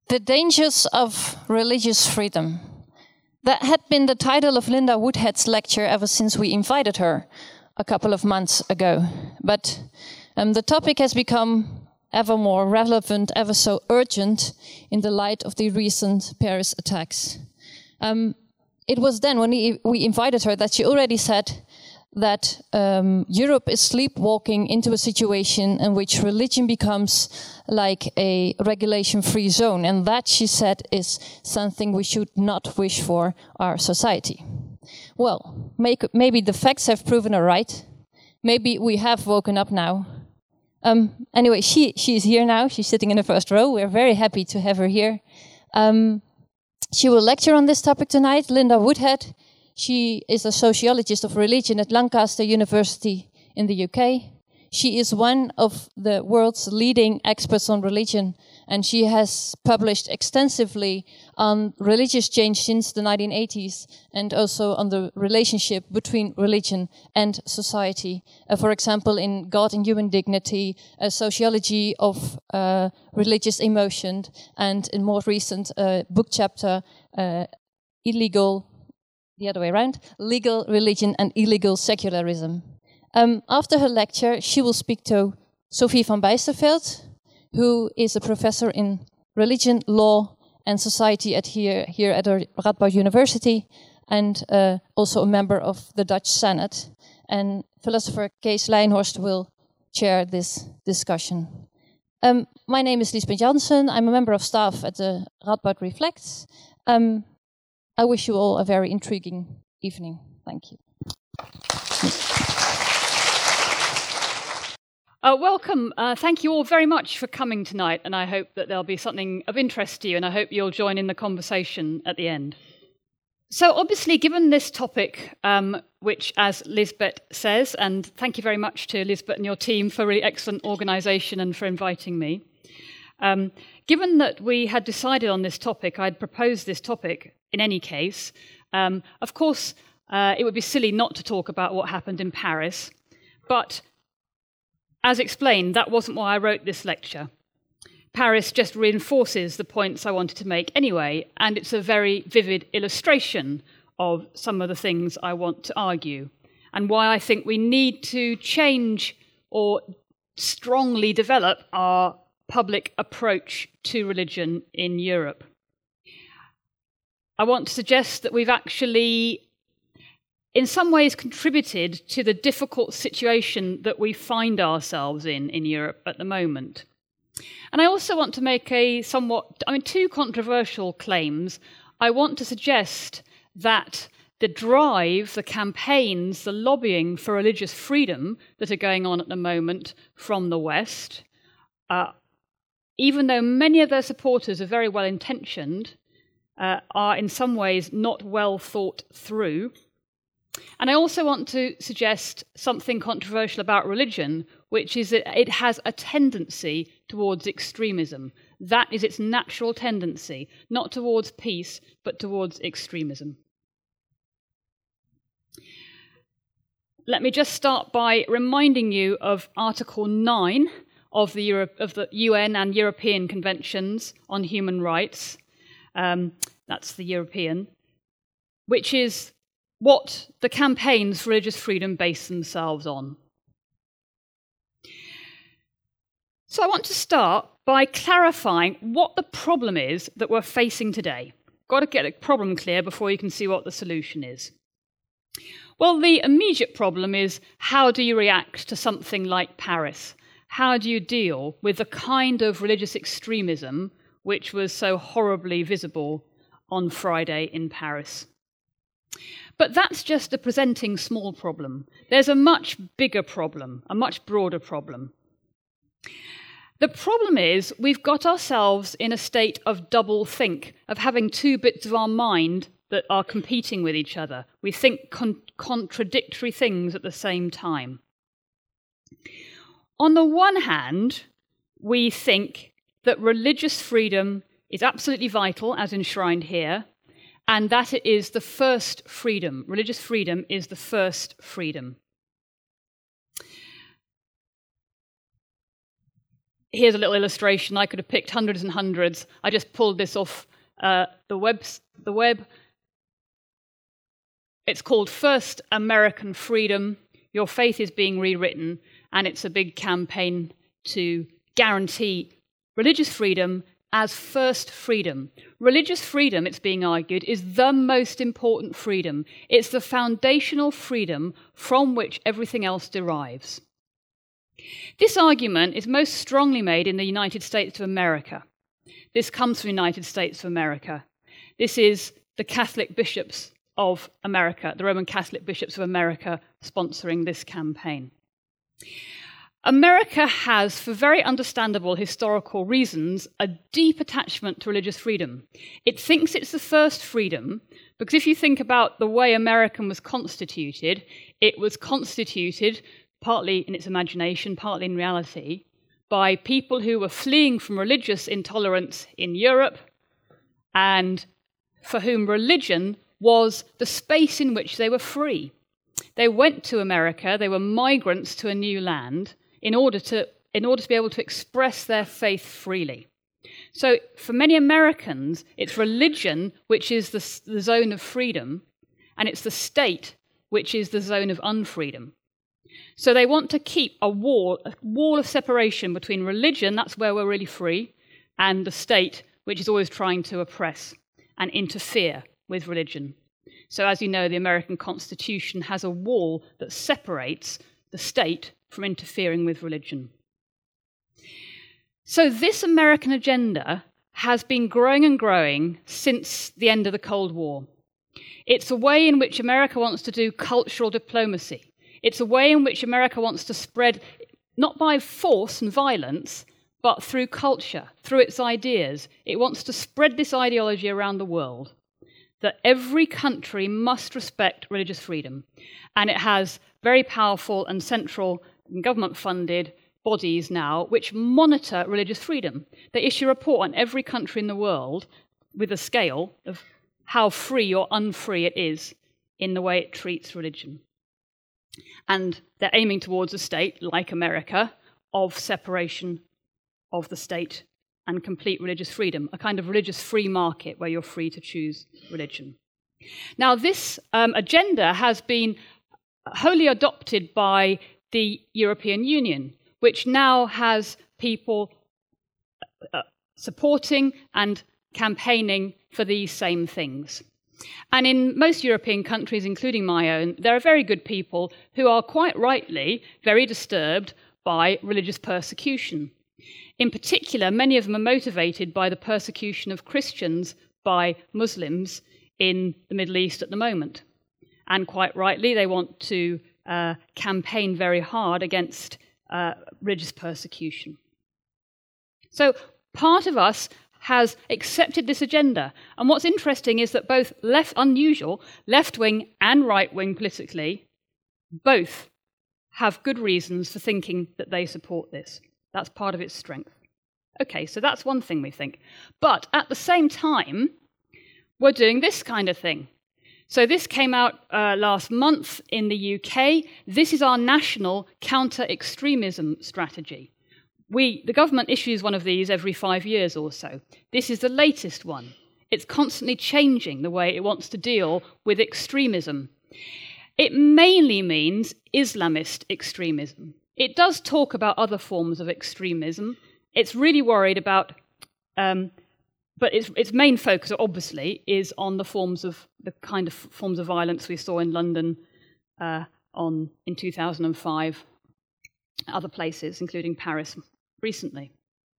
The Dangers of Religious Freedom. That had been the title of Linda Woodhead's lecture ever since we invited her a couple of months ago. But the topic has become ever more relevant, ever so urgent in the light of the recent Paris attacks. It was then when we invited her that she already said that Europe is sleepwalking into a situation in which religion becomes like a regulation-free zone. And that, she said, is something we should not wish for our society. Well, maybe the facts have proven her right. Maybe we have woken up now. Anyway, she is here now. She's sitting in the first row. We're very happy to have her here. She will lecture on this topic tonight. Linda Woodhead. She is a sociologist of religion at Lancaster University in the UK. She is one of the world's leading experts on religion, and she has published extensively on religious change since the 1980s and also on the relationship between religion and society. For example, in God and Human Dignity, a sociology of religious emotion, and in more recent book chapter, Legal Religion and Illegal Secularism. After her lecture, she will speak to Sophie van Bijsterveld, who is a professor in religion, law, and society here at Radboud University, and also a member of the Dutch Senate. And philosopher Kees Lijnhorst will chair this discussion. My name is Liesbeth Jansen. I'm a member of staff at the Radboud Reflects. I wish you all a very intriguing evening. Thank you. Welcome. Thank you all very much for coming tonight, and I hope that there'll be something of interest to you, and I hope you'll join in the conversation at the end. So obviously, given this topic, which, as Lisbeth says, and thank you very much to Lisbeth and your team for really excellent organisation and for inviting me. Given that we had decided on this topic, I'd proposed this topic in any case. Of course, it would be silly not to talk about what happened in Paris, but as explained, that wasn't why I wrote this lecture. Paris just reinforces the points I wanted to make anyway, and it's a very vivid illustration of some of the things I want to argue, and why I think we need to change or strongly develop our public approach to religion in Europe. I want to suggest that we've actually, in some ways, contributed to the difficult situation that we find ourselves in Europe at the moment. And I also want to make two controversial claims. I want to suggest that the drive, the campaigns, the lobbying for religious freedom that are going on at the moment from the West, even though many of their supporters are very well intentioned, are in some ways not well thought through. And I also want to suggest something controversial about religion, which is that it has a tendency towards extremism. That is its natural tendency, not towards peace, but towards extremism. Let me just start by reminding you of Article 9 of the UN and European Conventions on Human Rights. That's the European, which is what the campaigns for religious freedom base themselves on. So I want to start by clarifying what the problem is that we're facing today. Got to get a problem clear before you can see what the solution is. Well, the immediate problem is, how do you react to something like Paris? How do you deal with the kind of religious extremism which was so horribly visible on Friday in Paris? But that's just a presenting small problem. There's a much bigger problem, a much broader problem. The problem is we've got ourselves in a state of double think, of having two bits of our mind that are competing with each other. We think contradictory things at the same time. On the one hand, we think that religious freedom is absolutely vital, as enshrined here, and that it is the first freedom. Religious freedom is the first freedom. here's a little illustration. I could have picked hundreds and hundreds. I just pulled this off the web. It's called First American Freedom. Your faith is being rewritten, and it's a big campaign to guarantee religious freedom as first freedom. Religious freedom, it's being argued, is the most important freedom. It's the foundational freedom from which everything else derives. This argument is most strongly made in the United States of America. This comes from the United States of America. This is the Catholic bishops of America, the Roman Catholic bishops of America, sponsoring this campaign. America has, for very understandable historical reasons, a deep attachment to religious freedom. It thinks it's the first freedom, because if you think about the way America was constituted, it was constituted, partly in its imagination, partly in reality, by people who were fleeing from religious intolerance in Europe, and for whom religion was the space in which they were free. They went to America, they were migrants to a new land, in order to be able to express their faith freely. So for many Americans, it's religion which is the zone of freedom, and it's the state which is the zone of unfreedom. So they want to keep a wall of separation between religion, that's where we're really free, and the state, which is always trying to oppress and interfere with religion. So as you know, the American Constitution has a wall that separates the state from interfering with religion. So this American agenda has been growing and growing since the end of the Cold War. It's a way in which America wants to do cultural diplomacy. It's a way in which America wants to spread, not by force and violence, but through culture, through its ideas. It wants to spread this ideology around the world, that every country must respect religious freedom. And it has very powerful and central government-funded bodies now which monitor religious freedom. They issue a report on every country in the world with a scale of how free or unfree it is in the way it treats religion. And they're aiming towards a state, like America, of separation of the state and complete religious freedom, a kind of religious free market where you're free to choose religion. Now, this agenda has been wholly adopted by the European Union, which now has people supporting and campaigning for these same things. And in most European countries, including my own, there are very good people who are quite rightly very disturbed by religious persecution. In particular, many of them are motivated by the persecution of Christians by Muslims in the Middle East at the moment. And quite rightly, they want to campaign very hard against religious persecution. So part of us has accepted this agenda. And what's interesting is that both left-wing and right-wing politically, both have good reasons for thinking that they support this. That's part of its strength. Okay, so that's one thing we think. But at the same time, we're doing this kind of thing. So this came out last month in the UK. This is our national counter-extremism strategy. The government issues one of these every 5 years or so. This is the latest one. It's constantly changing the way it wants to deal with extremism. It mainly means Islamist extremism. It does talk about other forms of extremism. It's really worried about but its main focus, obviously, is on the kind of forms of violence we saw in London in 2005, other places, including Paris recently.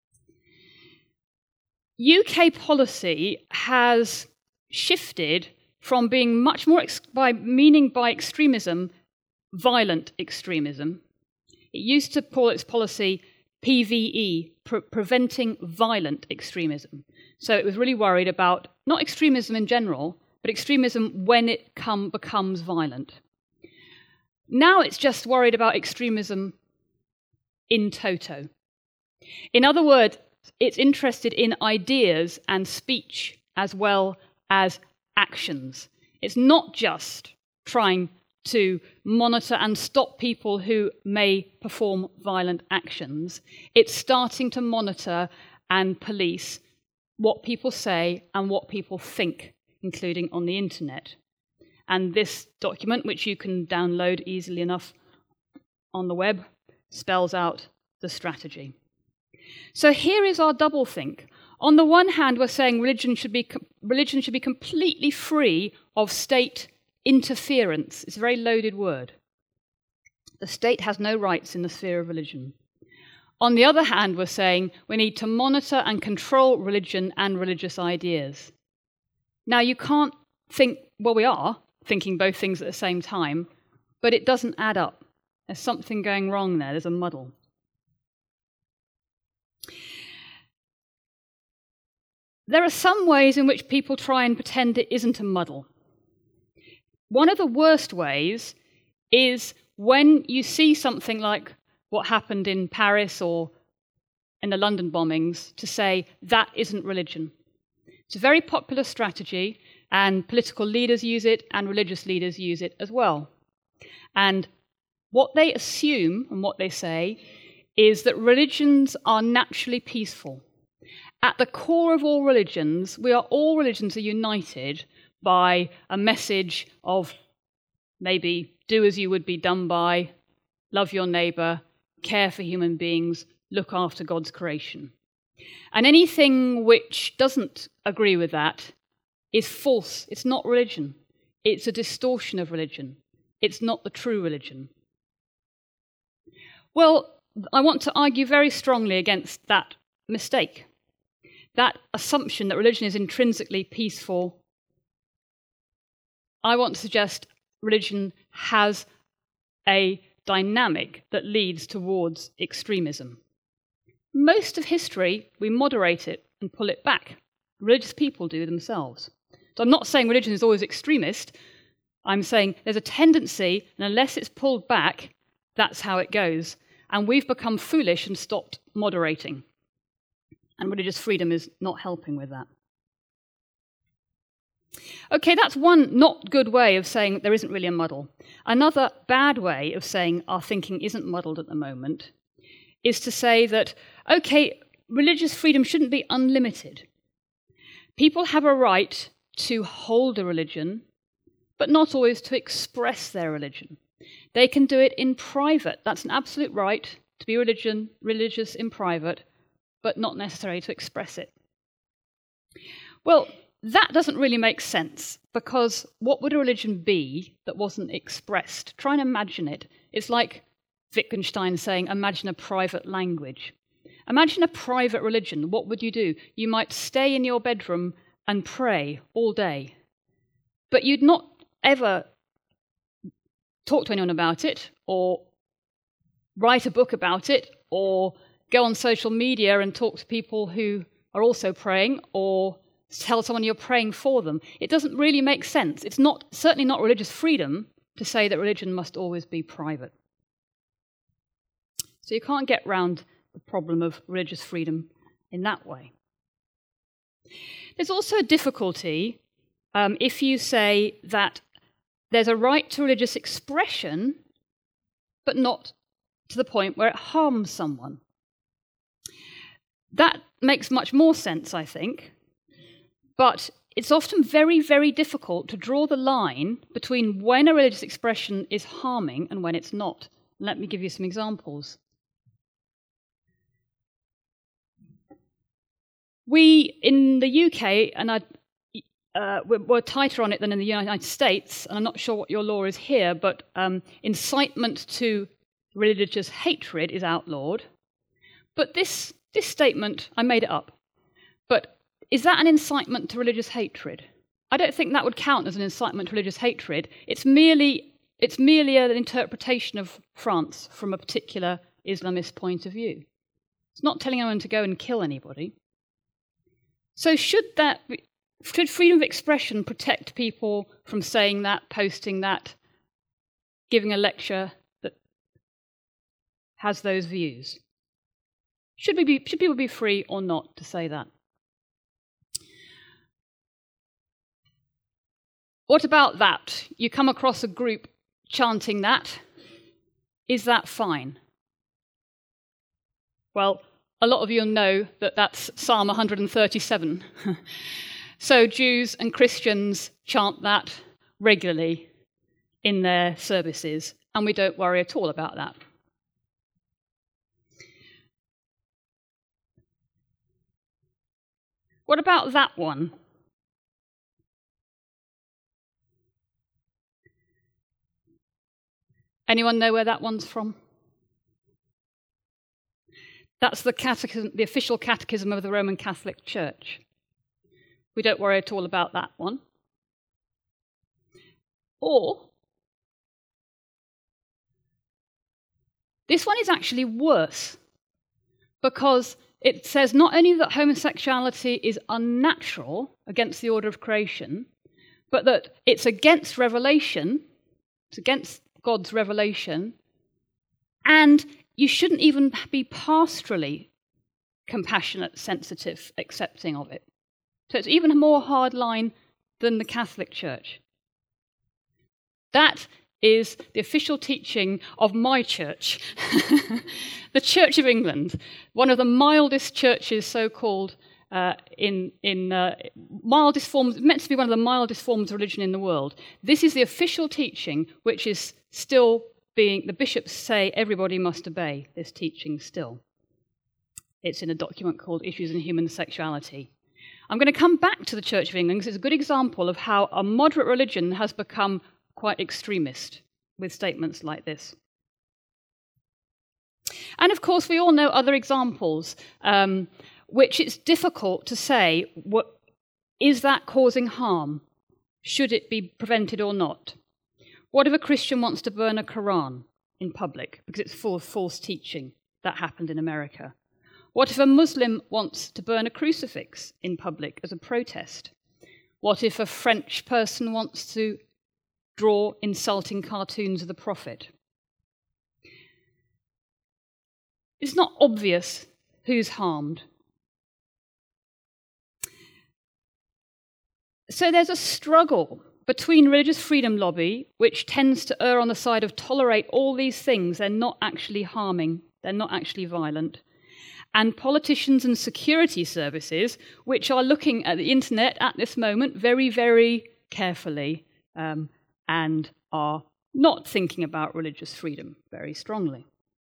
UK policy has shifted from being much more by extremism, violent extremism. It used to call its policy PVE, preventing violent extremism. So it was really worried about not extremism in general, but extremism when it becomes violent. Now it's just worried about extremism in toto. In other words, it's interested in ideas and speech as well as actions. It's not just trying to monitor and stop people who may perform violent actions. It's starting to monitor and police what people say and what people think, including on the internet. And this document, which you can download easily enough on the web, spells out the strategy. So here is our doublethink. On the one hand, we're saying religion should be completely free of state interference. It's a very loaded word. The state has no rights in the sphere of religion. On the other hand, we're saying we need to monitor and control religion and religious ideas. Now, you can't think, well, we are thinking both things at the same time, but it doesn't add up. There's something going wrong there. There's a muddle. There are some ways in which people try and pretend it isn't a muddle. One of the worst ways is when you see something like what happened in Paris or in the London bombings, to say that isn't religion. It's a very popular strategy, and political leaders use it, and religious leaders use it as well. And what they assume and what they say is that religions are naturally peaceful. At the core of all religions, all religions are united by a message of maybe do as you would be done by, love your neighbour, care for human beings, look after God's creation. And anything which doesn't agree with that is false. It's not religion. It's a distortion of religion. It's not the true religion. Well, I want to argue very strongly against that mistake. That assumption that religion is intrinsically peaceful. I want to suggest religion has a dynamic that leads towards extremism. Most of history, we moderate it and pull it back. Religious people do themselves. So I'm not saying religion is always extremist. I'm saying there's a tendency, and unless it's pulled back, that's how it goes. And we've become foolish and stopped moderating. And religious freedom is not helping with that. Okay, that's one not good way of saying there isn't really a muddle. Another bad way of saying our thinking isn't muddled at the moment is to say that, okay, religious freedom shouldn't be unlimited. People have a right to hold a religion, but not always to express their religion. They can do it in private. That's an absolute right to be religious in private, but not necessary to express it. Well, that doesn't really make sense, because what would a religion be that wasn't expressed? Try and imagine it. It's like Wittgenstein saying, imagine a private language. Imagine a private religion. What would you do? You might stay in your bedroom and pray all day, but you'd not ever talk to anyone about it, or write a book about it, or go on social media and talk to people who are also praying, or tell someone you're praying for them. It doesn't really make sense. It's certainly not religious freedom to say that religion must always be private. So you can't get round the problem of religious freedom in that way. There's also a difficulty if you say that there's a right to religious expression, but not to the point where it harms someone. That makes much more sense, I think. But it's often very, very difficult to draw the line between when a religious expression is harming and when it's not. Let me give you some examples. We, in the UK, and we're tighter on it than in the United States, and I'm not sure what your law is here, but incitement to religious hatred is outlawed. But this statement, I made it up, but is that an incitement to religious hatred? I don't think that would count as an incitement to religious hatred. It's merely an interpretation of France from a particular Islamist point of view. It's not telling anyone to go and kill anybody. So should freedom of expression protect people from saying that, posting that, giving a lecture that has those views? Should people be free or not to say that? What about that? You come across a group chanting that, is that fine? Well, a lot of you know that that's Psalm 137. So Jews and Christians chant that regularly in their services, and we don't worry at all about that. What about that one? Anyone know where that one's from? That's the catechism, the official catechism of the Roman Catholic Church. We don't worry at all about that one. Or, this one is actually worse, because it says not only that homosexuality is unnatural against the order of creation, but that it's against revelation, it's against God's revelation, and you shouldn't even be pastorally compassionate, sensitive, accepting of it. So it's even a more hard line than the Catholic Church. That is the official teaching of my church, the Church of England, one of the mildest churches, so-called, mildest forms, meant to be one of the mildest forms of religion in the world. This is the official teaching, which is still being, the bishops say everybody must obey this teaching still. It's in a document called Issues in Human Sexuality. I'm going to come back to the Church of England because it's a good example of how a moderate religion has become quite extremist with statements like this. And of course, we all know other examples, which it's difficult to say, is that causing harm? Should it be prevented or not? What if a Christian wants to burn a Quran in public because it's full of false teaching? That happened in America. What if a Muslim wants to burn a crucifix in public as a protest? What if a French person wants to draw insulting cartoons of the Prophet? It's not obvious who's harmed. So there's a struggle between religious freedom lobby, which tends to err on the side of tolerate all these things, they're not actually harming, they're not actually violent, and politicians and security services, which are looking at the internet at this moment very, very carefully, and are not thinking about religious freedom very strongly.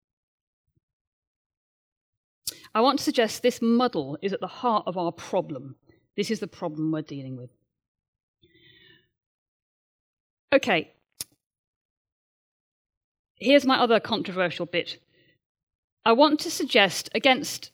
I want to suggest this muddle is at the heart of our problem. This is the problem we're dealing with. Okay, here's my other controversial bit. I want to suggest, against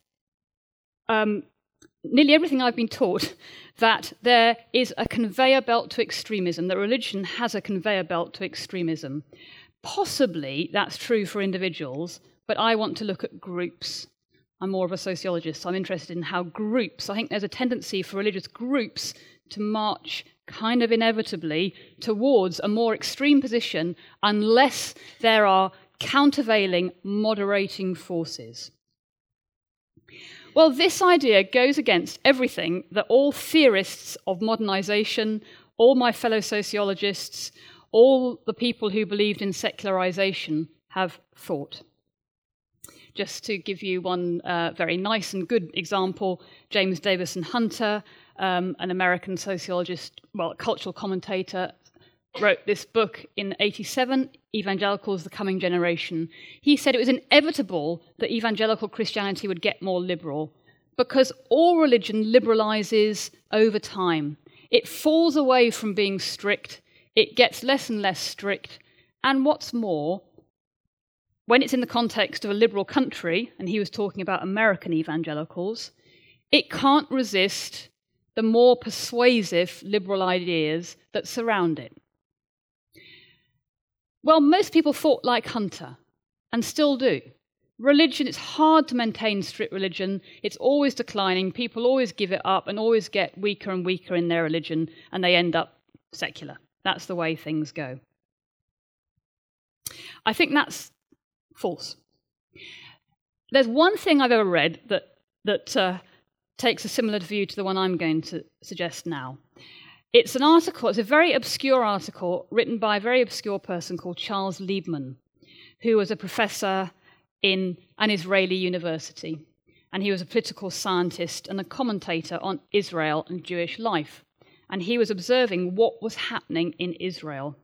nearly everything I've been taught, that there is a conveyor belt to extremism, that religion has a conveyor belt to extremism. Possibly that's true for individuals, but I want to look at groups. I'm more of a sociologist, so I'm interested in how groups, I think there's a tendency for religious groups to march kind of inevitably towards a more extreme position unless there are countervailing, moderating forces. Well, this idea goes against everything that all theorists of modernization, all my fellow sociologists, all the people who believed in secularization have thought. Just to give you one very nice and good example, James Davison Hunter, an American sociologist, cultural commentator, wrote this book in 1987, Evangelicals, the Coming Generation. He said it was inevitable that evangelical Christianity would get more liberal because all religion liberalizes over time. It falls away from being strict, it gets less and less strict, and what's more, when it's in the context of a liberal country, and he was talking about American evangelicals, it can't resist the more persuasive liberal ideas that surround it. Well, most people thought like Hunter, and still do. Religion, it's hard to maintain strict religion. It's always declining. People always give it up and always get weaker and weaker in their religion, and they end up secular. That's the way things go. I think that's false. There's one thing I've ever read that takes a similar view to the one I'm going to suggest now. It's an article, it's a very obscure article written by a very obscure person called Charles Liebman, who was a professor in an Israeli university. And he was a political scientist and a commentator on Israel and Jewish life. And he was observing what was happening in Israel.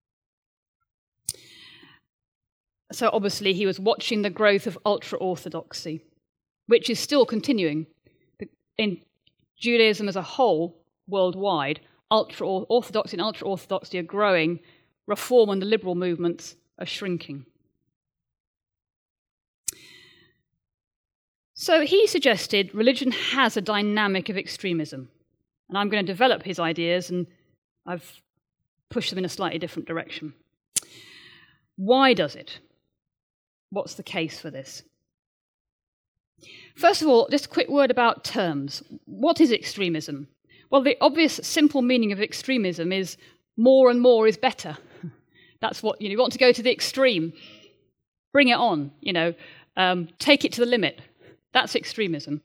So obviously he was watching the growth of ultra-Orthodoxy, which is still continuing. In Judaism as a whole, worldwide, ultra-Orthodoxy and ultra-Orthodoxy are growing. Reform and the liberal movements are shrinking. So he suggested religion has a dynamic of extremism. And I'm going to develop his ideas, and I've pushed them in a slightly different direction. Why does it? What's the case for this? First of all, just a quick word about terms. What is extremism? Well, the obvious, simple meaning of extremism is more and more is better. That's what, you want to go to the extreme. Bring it on, take it to the limit. That's extremism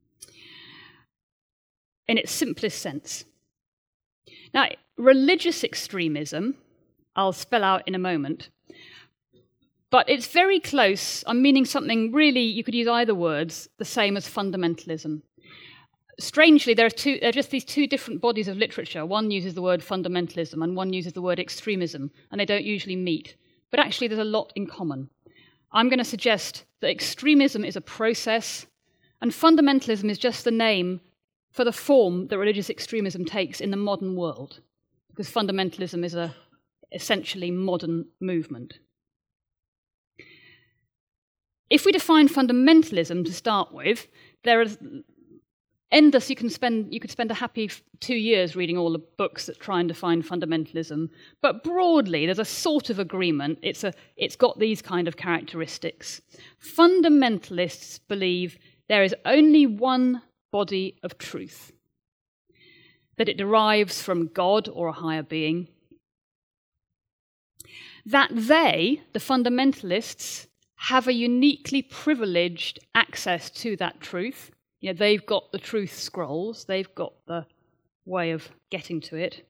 in its simplest sense. Now, religious extremism, I'll spell out in a moment, but it's very close. I'm meaning something really, you could use either words, the same as fundamentalism. Strangely, there are just these two different bodies of literature. One uses the word fundamentalism and one uses the word extremism, and they don't usually meet. But actually, there's a lot in common. I'm going to suggest that extremism is a process, and fundamentalism is just the name for the form that religious extremism takes in the modern world, because fundamentalism is a essentially modern movement. If we define fundamentalism to start with, there is endless. You could spend a happy 2 years reading all the books that try and define fundamentalism. But broadly, there's a sort of agreement. It's got these kind of characteristics. Fundamentalists believe there is only one body of truth, that it derives from God or a higher being, that they, the fundamentalists, have a uniquely privileged access to that truth. They've got the truth scrolls, they've got the way of getting to it.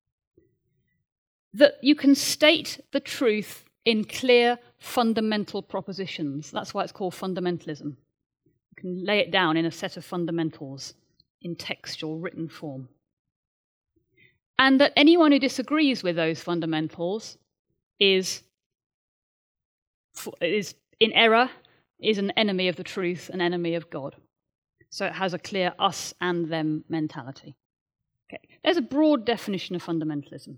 That you can state the truth in clear fundamental propositions. That's why it's called fundamentalism. You can lay it down in a set of fundamentals in textual written form. And that anyone who disagrees with those fundamentals is in error, is an enemy of the truth, an enemy of God. So it has a clear us and them mentality. Okay. There's a broad definition of fundamentalism,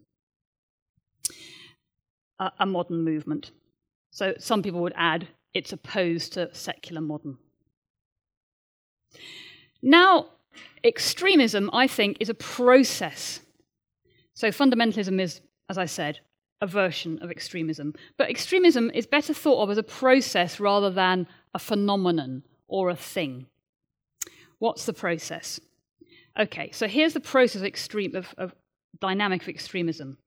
a modern movement. So some people would add it's opposed to secular modern. Now, extremism, I think, is a process. So fundamentalism is, as I said, a version of extremism. But extremism is better thought of as a process rather than a phenomenon or a thing. What's the process? Okay, so here's the process of dynamic of extremism.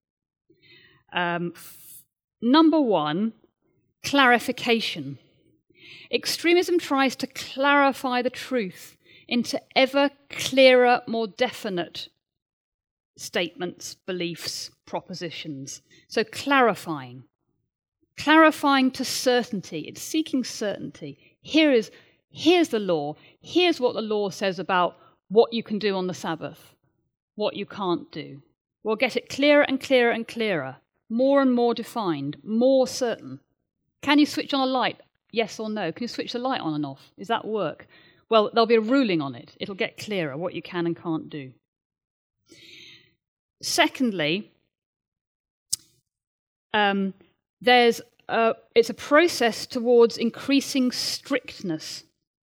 Number one, clarification. Extremism tries to clarify the truth into ever clearer, more definite statements, beliefs, propositions. So clarifying to certainty. It's seeking certainty. Here's the law. Here's what the law says about what you can do on the Sabbath, what you can't do. We'll get it clearer and clearer and clearer, more and more defined, more certain. Can you switch on a light? Yes or no? Can you switch the light on and off? Does that work? Well, there'll be a ruling on it. It'll get clearer what you can and can't do. Secondly, it's a process towards increasing strictness.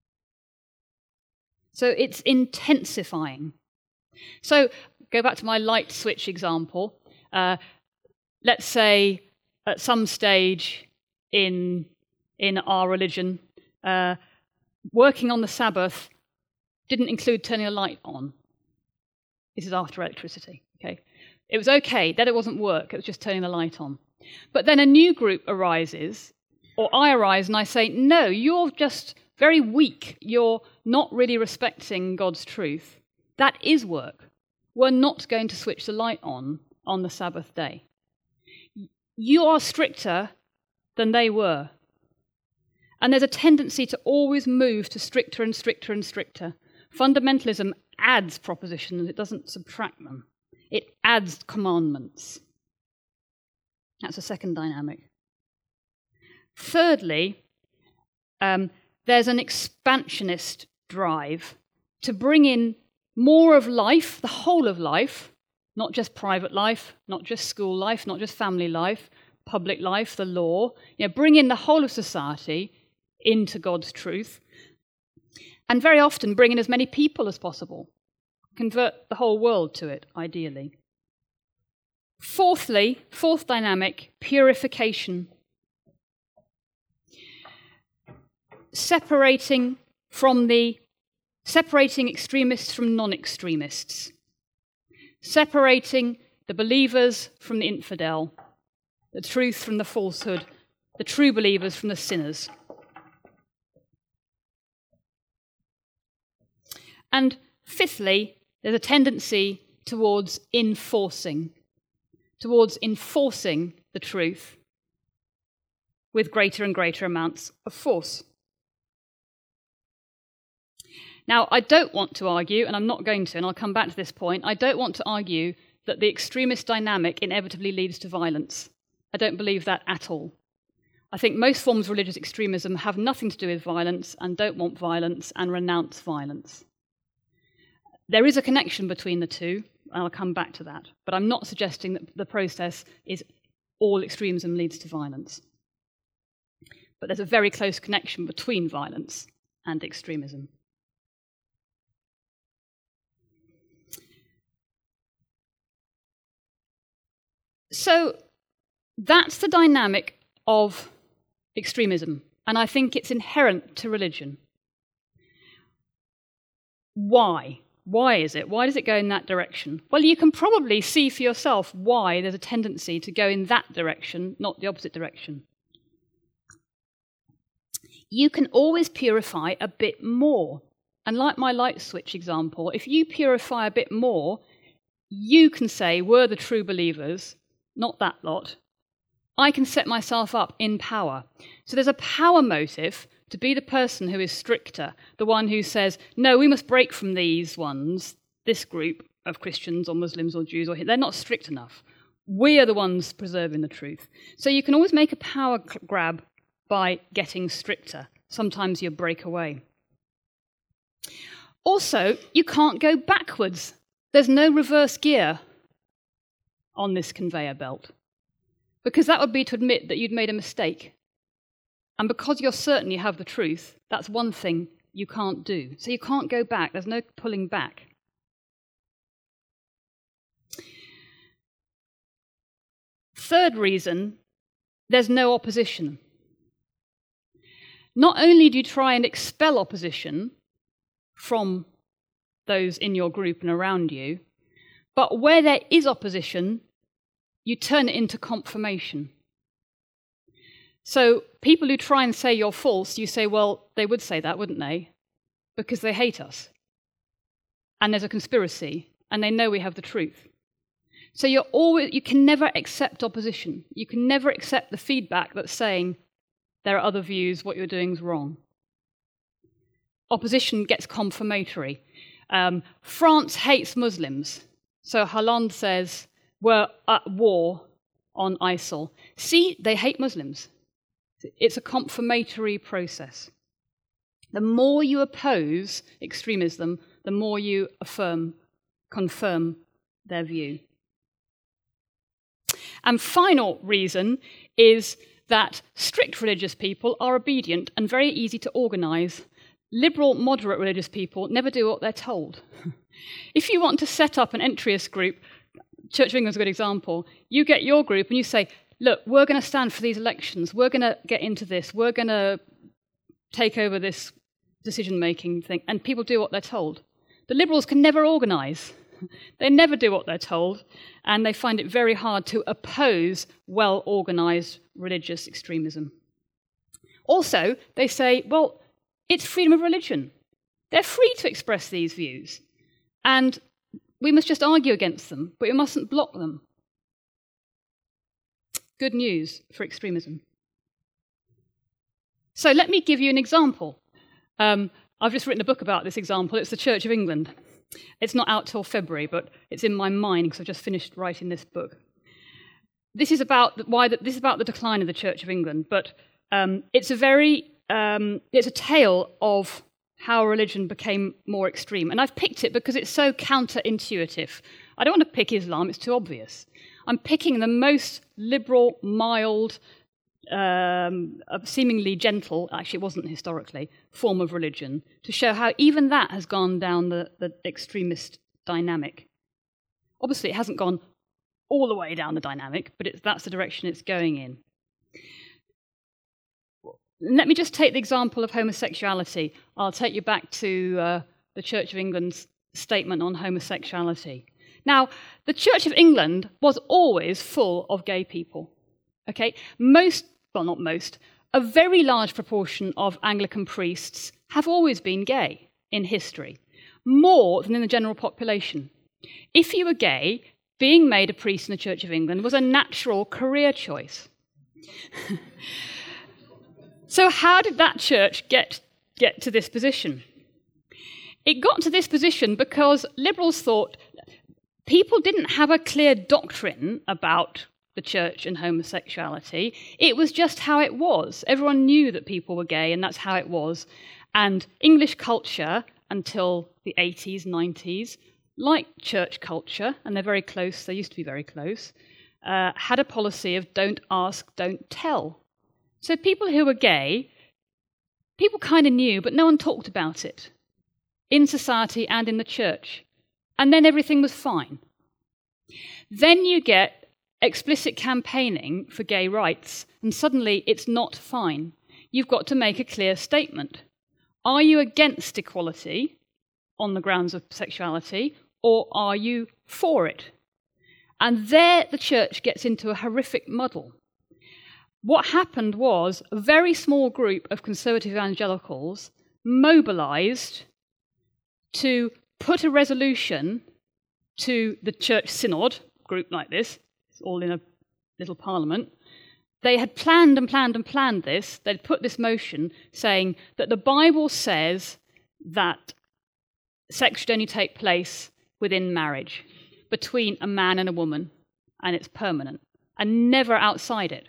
So it's intensifying. So go back to my light switch example. Let's say at some stage in our religion, working on the Sabbath didn't include turning a light on. This is after electricity. Okay, it was okay, then it wasn't work, it was just turning the light on. But then a new group arises, or I arise and I say, no, you're just very weak, you're not really respecting God's truth. That is work. were not going to switch the light on the Sabbath day. You are stricter than they were. And there's a tendency to always move to stricter and stricter and stricter. Fundamentalism adds propositions, it doesn't subtract them. It adds commandments. That's a second dynamic. Thirdly, there's an expansionist drive to bring in more of life, the whole of life, not just private life, not just school life, not just family life, public life, the law. Bring in the whole of society into God's truth. And very often bring in as many people as possible. Convert the whole world to it, ideally. Fourthly, fourth dynamic, purification. Separating extremists from non-extremists. Separating the believers from the infidel, the truth from the falsehood, the true believers from the sinners. And fifthly, there's a tendency towards enforcing the truth with greater and greater amounts of force. Now, I don't want to argue, and I'm not going to, and I'll come back to this point, I don't want to argue that the extremist dynamic inevitably leads to violence. I don't believe that at all. I think most forms of religious extremism have nothing to do with violence and don't want violence and renounce violence. There is a connection between the two, and I'll come back to that. But I'm not suggesting that the process is all extremism leads to violence. But there's a very close connection between violence and extremism. So that's the dynamic of extremism, and I think it's inherent to religion. Why? Why is it? Why does it go in that direction? Well, you can probably see for yourself why there's a tendency to go in that direction, not the opposite direction. You can always purify a bit more. And like my light switch example, if you purify a bit more, you can say, we're the true believers, not that lot. I can set myself up in power. So there's a power motive to be the person who is stricter, the one who says, no, we must break from these ones, this group of Christians or Muslims or Jews, they're not strict enough. We are the ones preserving the truth. So you can always make a power grab by getting stricter. Sometimes you break away. Also, you can't go backwards. There's no reverse gear on this conveyor belt, because that would be to admit that you'd made a mistake. And because you're certain you have the truth, that's one thing you can't do. So you can't go back. There's no pulling back. Third reason, there's no opposition. Not only do you try and expel opposition from those in your group and around you, but where there is opposition, you turn it into confirmation. So people who try and say you're false, you say, well, they would say that, wouldn't they? Because they hate us. And there's a conspiracy, and they know we have the truth. So you can never accept opposition. You can never accept the feedback that's saying there are other views, what you're doing is wrong. Opposition gets confirmatory. France hates Muslims. So Hollande says, we're at war on ISIL. See, they hate Muslims. It's a confirmatory process. The more you oppose extremism, the more you confirm their view. And final reason is that strict religious people are obedient and very easy to organise. Liberal, moderate religious people never do what they're told. If you want to set up an entryist group, Church of England's a good example, you get your group and you say, look, we're going to stand for these elections, we're going to get into this, we're going to take over this decision-making thing, and people do what they're told. The Liberals can never organise. They never do what they're told, and they find it very hard to oppose well-organised religious extremism. Also, they say, well, it's freedom of religion. They're free to express these views. And We must just argue against them, but we mustn't block them. Good news for extremism. So let me give you an example. I've just written a book about this example. It's the Church of England. It's not out till February, but it's in my mind because I've just finished writing this book. This is about the decline of the Church of England, but it's a tale of how religion became more extreme. And I've picked it because it's so counterintuitive. I don't want to pick Islam, it's too obvious. I'm picking the most liberal, mild, seemingly gentle, actually it wasn't historically, form of religion to show how even that has gone down the extremist dynamic. Obviously it hasn't gone all the way down the dynamic, but that's the direction it's going in. Let me just take the example of homosexuality. I'll take you back to the Church of England's statement on homosexuality. Now, the Church of England was always full of gay people. Okay, a very large proportion of Anglican priests have always been gay in history, more than in the general population. If you were gay, being made a priest in the Church of England was a natural career choice. So how did that church get to this position? It got to this position because liberals thought people didn't have a clear doctrine about the church and homosexuality. It was just how it was. Everyone knew that people were gay, and that's how it was. And English culture, until the 80s, 90s, like church culture, and they're very close, they used to be very close, had a policy of don't ask, don't tell. So people who were gay, people kind of knew, but no one talked about it in society and in the church. And then everything was fine. Then you get explicit campaigning for gay rights, and suddenly it's not fine. You've got to make a clear statement. Are you against equality on the grounds of sexuality, or are you for it? And there the church gets into a horrific muddle. What happened was a very small group of conservative evangelicals mobilized to put a resolution to the church synod, group like this, it's all in a little parliament. They had planned this. They'd put this motion saying that the Bible says that sex should only take place within marriage, between a man and a woman, and it's permanent, and never outside it.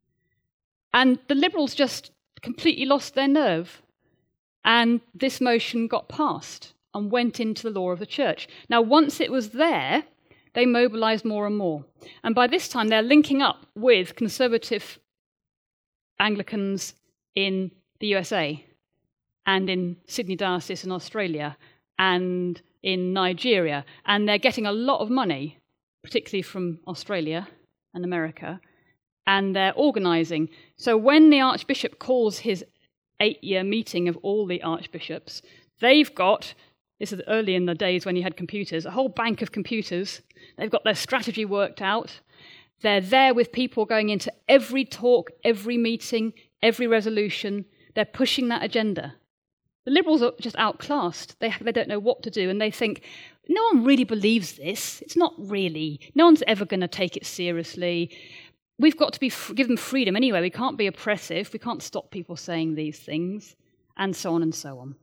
And the Liberals just completely lost their nerve, and this motion got passed and went into the law of the church. Now, once it was there, they mobilised more and more. And by this time, they're linking up with conservative Anglicans in the USA and in Sydney Diocese in Australia and in Nigeria. And they're getting a lot of money, particularly from Australia and America, and they're organising. So when the Archbishop calls his 8-year meeting of all the archbishops, they've got, this is early in the days when you had computers, a whole bank of computers. They've got their strategy worked out. They're there with people going into every talk, every meeting, every resolution. They're pushing that agenda. The Liberals are just outclassed. They don't know what to do, and they think, no one really believes this. It's not really. No one's ever going to take it seriously. We've got to give them freedom anyway. We can't be oppressive. We can't stop people saying these things, and so on and so on.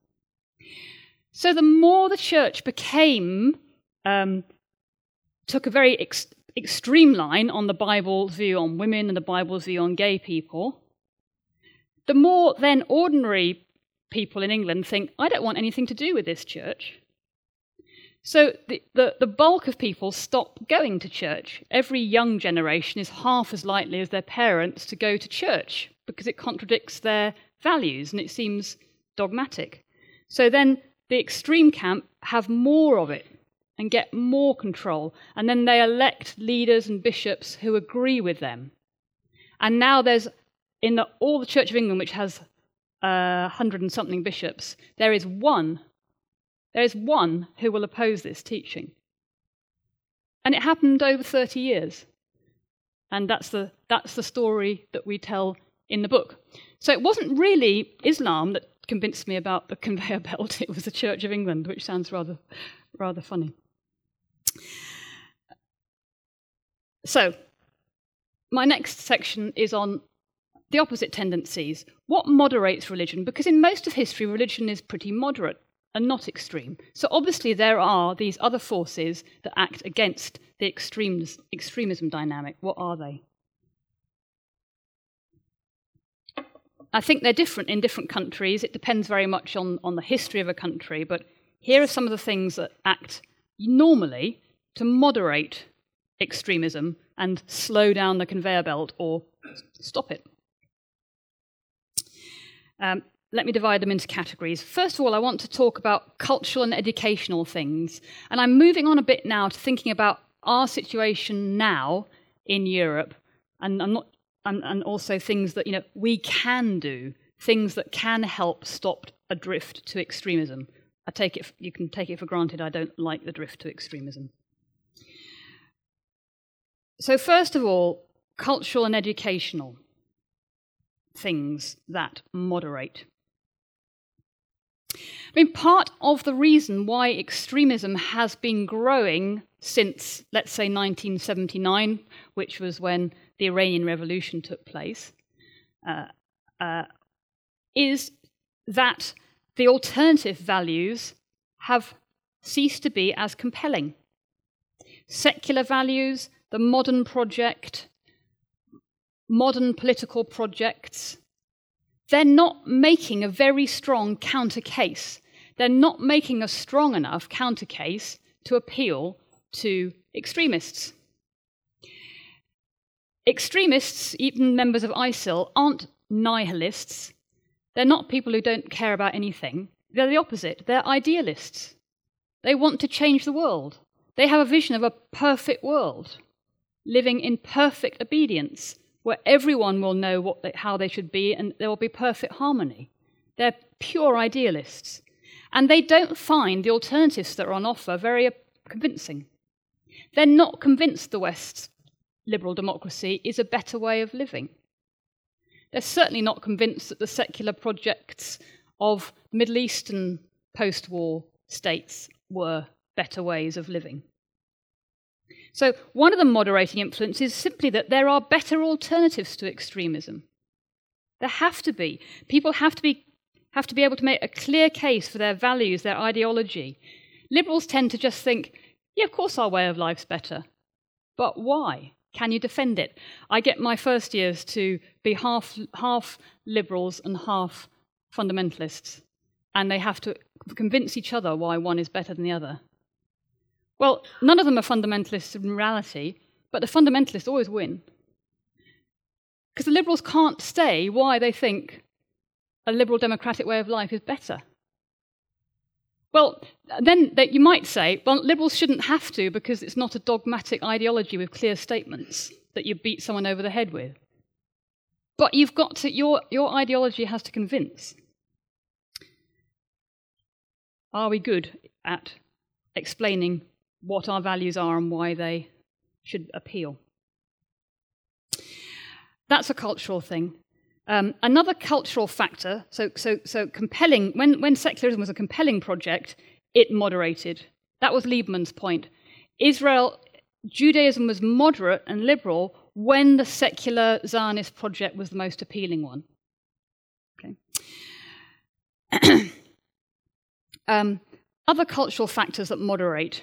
So the more the church became, took a very extreme line on the Bible's view on women and the Bible's view on gay people, the more then ordinary people in England think, I don't want anything to do with this church. So the bulk of people stop going to church. Every young generation is half as likely as their parents to go to church because it contradicts their values and it seems dogmatic. So then the extreme camp have more of it and get more control, and then they elect leaders and bishops who agree with them. And now there's, in all the Church of England, which has 100 and something bishops, there is one who will oppose this teaching. And it happened over 30 years. And that's the story that we tell in the book. So it wasn't really Islam that convinced me about the conveyor belt. It was the Church of England, which sounds rather funny. So, my next section is on the opposite tendencies. What moderates religion? Because in most of history, religion is pretty moderate and not extreme. So obviously there are these other forces that act against the extremism dynamic. What are they? I think they're different in different countries. It depends very much on the history of a country. But here are some of the things that act normally to moderate extremism and slow down the conveyor belt or stop it. Let me divide them into categories. First of all, I want to talk about cultural and educational things. And I'm moving on a bit now to thinking about our situation now in Europe, and also things that we can do, things that can help stop a drift to extremism. You can take it for granted I don't like the drift to extremism. So first of all, cultural and educational things that moderate. I mean, part of the reason why extremism has been growing since, let's say, 1979, which was when the Iranian Revolution took place, is that the alternative values have ceased to be as compelling. Secular values, the modern project, modern political projects, they're not making a very strong counter case. They're not making a strong enough counter case to appeal to extremists. Extremists, even members of ISIL, aren't nihilists. They're not people who don't care about anything. They're the opposite. They're idealists. They want to change the world. They have a vision of a perfect world, living in perfect obedience, where everyone will know how they should be and there will be perfect harmony. They're pure idealists. And they don't find the alternatives that are on offer very convincing. They're not convinced the West's liberal democracy is a better way of living. They're certainly not convinced that the secular projects of Middle Eastern post-war states were better ways of living. So one of the moderating influences is simply that there are better alternatives to extremism. There have to be. People have to be able to make a clear case for their values, their ideology. Liberals tend to just think, yeah, of course our way of life's better. But why? Can you defend it? I get my first years to be half liberals and half fundamentalists, and they have to convince each other why one is better than the other. Well, none of them are fundamentalists in reality, but the fundamentalists always win. Because the liberals can't say why they think a liberal democratic way of life is better. Well, then you might say, well, liberals shouldn't have to because it's not a dogmatic ideology with clear statements that you beat someone over the head with. But you've got to, your ideology has to convince. Are we good at explaining what our values are and why they should appeal? That's a cultural thing. Another cultural factor, so compelling, when secularism was a compelling project, it moderated. That was Liebman's point. Judaism was moderate and liberal when the secular Zionist project was the most appealing one. Okay. Other cultural factors that moderate.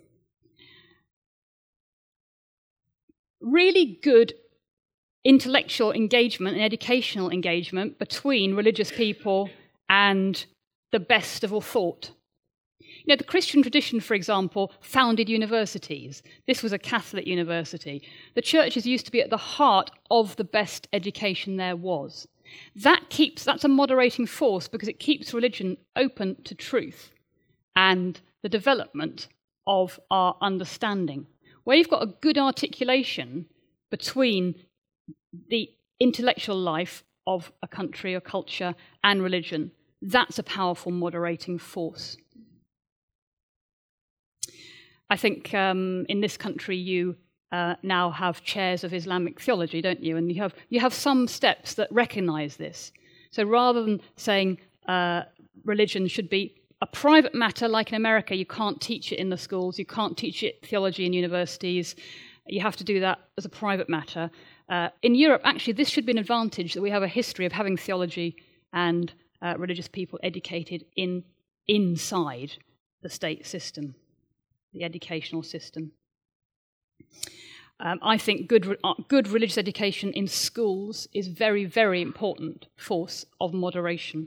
Really good intellectual engagement and educational engagement between religious people and the best of all thought. The Christian tradition, for example, founded universities. This was a Catholic university. The churches used to be at the heart of the best education there was. That's a moderating force because it keeps religion open to truth and the development of our understanding. Where you've got a good articulation between the intellectual life of a country or culture and religion, that's a powerful moderating force. I think in this country you now have chairs of Islamic theology, don't you? And you have some steps that recognise this. So rather than saying religion should be a private matter, like in America, you can't teach it in the schools, you can't teach it theology in universities, You have to do that as a private matter. In Europe, actually, this should be an advantage that we have a history of having theology and religious people educated inside the state system, the educational system. I think good religious education in schools is very, very important force of moderation.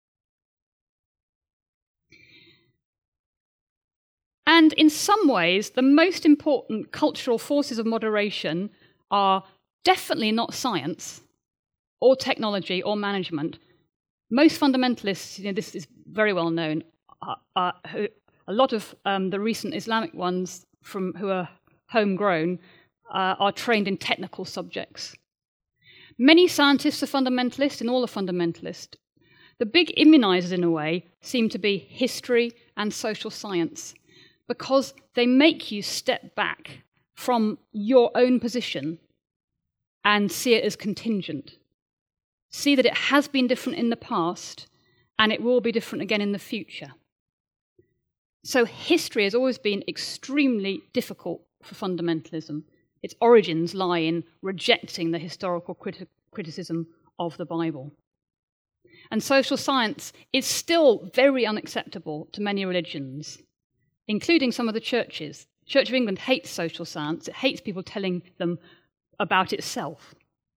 And in some ways, the most important cultural forces of moderation are definitely not science or technology or management. Most fundamentalists, this is very well known, a lot of the recent Islamic ones who are homegrown are trained in technical subjects. Many scientists are fundamentalists, and all are fundamentalist. The big immunizers, in a way, seem to be history and social science, because they make you step back from your own position and see it as contingent. See that it has been different in the past, and it will be different again in the future. So history has always been extremely difficult for fundamentalism. Its origins lie in rejecting the historical criticism of the Bible. And social science is still very unacceptable to many religions, including some of the churches. The Church of England hates social science. It hates people telling them about itself.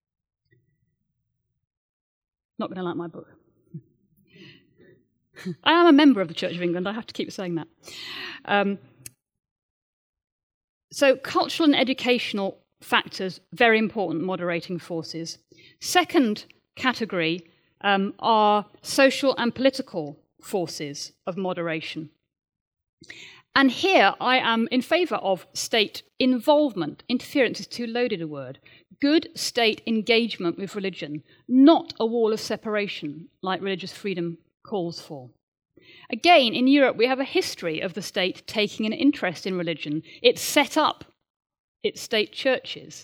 Not going to like my book. I am a member of the Church of England. I have to keep saying that. So cultural and educational factors, very important moderating forces. Second category are social and political forces of moderation. And here I am in favour of state involvement. Interference is too loaded a word. Good state engagement with religion, not a wall of separation like religious freedom calls for. Again, in Europe, we have a history of the state taking an interest in religion. It set up its state churches.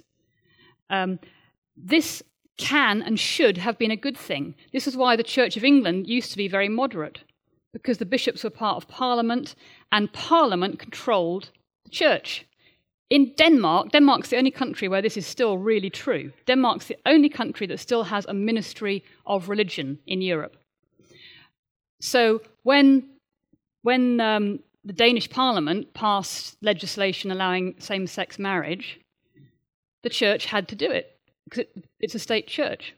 This can and should have been a good thing. This is why the Church of England used to be very moderate, because the bishops were part of Parliament, and Parliament controlled the church. In Denmark's the only country where this is still really true. Denmark's the only country that still has a ministry of religion in Europe. So when the Danish Parliament passed legislation allowing same-sex marriage, the church had to do it, because it's a state church.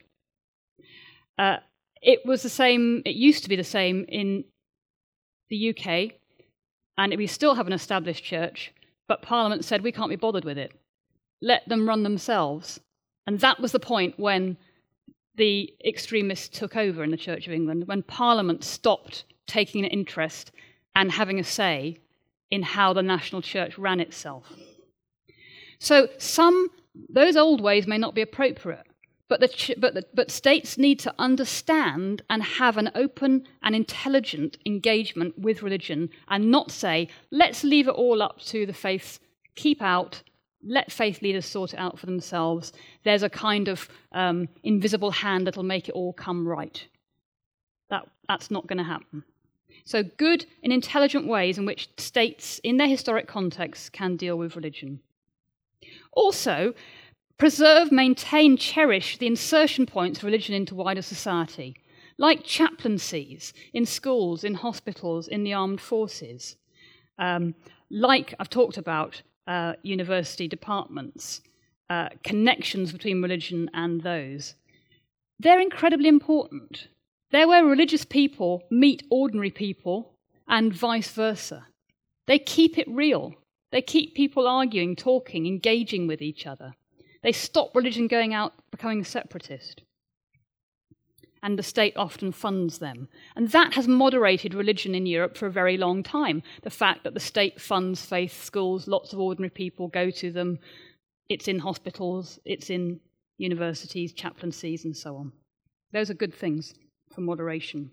It was the same, it used to be the same in the UK, and we still have an established church, but Parliament said, we can't be bothered with it. Let them run themselves. And that was the point when the extremists took over in the Church of England, when Parliament stopped taking an interest and having a say in how the national church ran itself. So those old ways may not be appropriate, but states need to understand and have an open and intelligent engagement with religion, and not say, let's leave it all up to the faiths, keep out, let faith leaders sort it out for themselves. There's a kind of invisible hand that'll make it all come right. That's not going to happen. So good and intelligent ways in which states, in their historic context, can deal with religion. Also, preserve, maintain, cherish the insertion points of religion into wider society, like chaplaincies in schools, in hospitals, in the armed forces, like I've talked about university departments, connections between religion and those. They're incredibly important. They're where religious people meet ordinary people and vice versa. They keep it real. They keep people arguing, talking, engaging with each other. They stop religion going out, becoming separatist. And the state often funds them. And that has moderated religion in Europe for a very long time. The fact that the state funds faith schools, lots of ordinary people go to them. It's in hospitals, it's in universities, chaplaincies, and so on. Those are good things for moderation.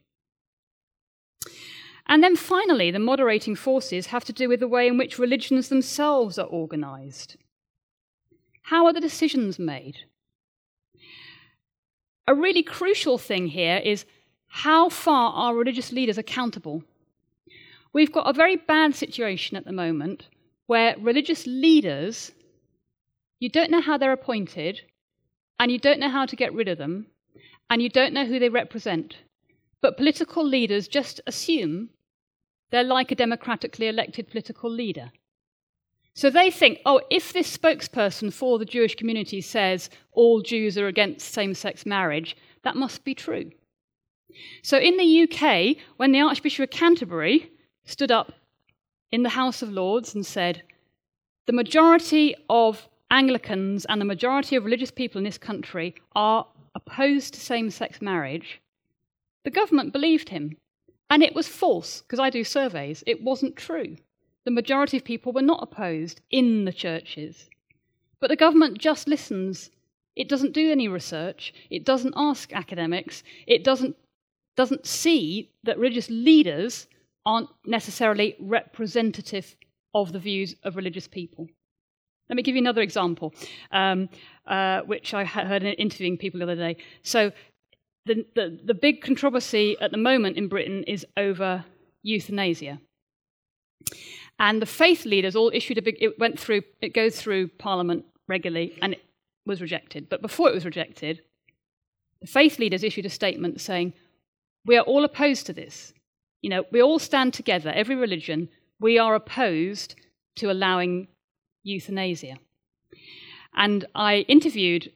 And then finally, the moderating forces have to do with the way in which religions themselves are organised. How are the decisions made? A really crucial thing here is how far are religious leaders accountable? We've got a very bad situation at the moment where religious leaders you don't know how they're appointed, and you don't know how to get rid of them, and you don't know who they represent. But political leaders just assume they're like a democratically elected political leader. So they think, oh, if this spokesperson for the Jewish community says all Jews are against same-sex marriage, that must be true. So in the UK, when the Archbishop of Canterbury stood up in the House of Lords and said, the majority of Anglicans and the majority of religious people in this country are opposed to same-sex marriage, the government believed him. And it was false, because I do surveys. It wasn't true. The majority of people were not opposed in the churches. But the government just listens. It doesn't do any research. It doesn't ask academics. It doesn't see that religious leaders aren't necessarily representative of the views of religious people. Let me give you another example, which I heard in interviewing people the other day. So the big controversy at the moment in Britain is over euthanasia. And the faith leaders all issued it goes through Parliament regularly, and it was rejected. But before it was rejected, the faith leaders issued a statement saying, we are all opposed to this. You know, we all stand together, every religion, we are opposed to allowing euthanasia. And I interviewed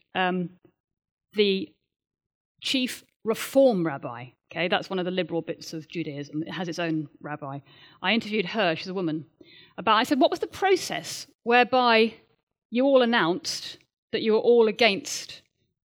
the chief reform rabbi. Okay, that's one of the liberal bits of Judaism. It has its own rabbi. I interviewed her, she's a woman, I said, what was the process whereby you all announced that you were all against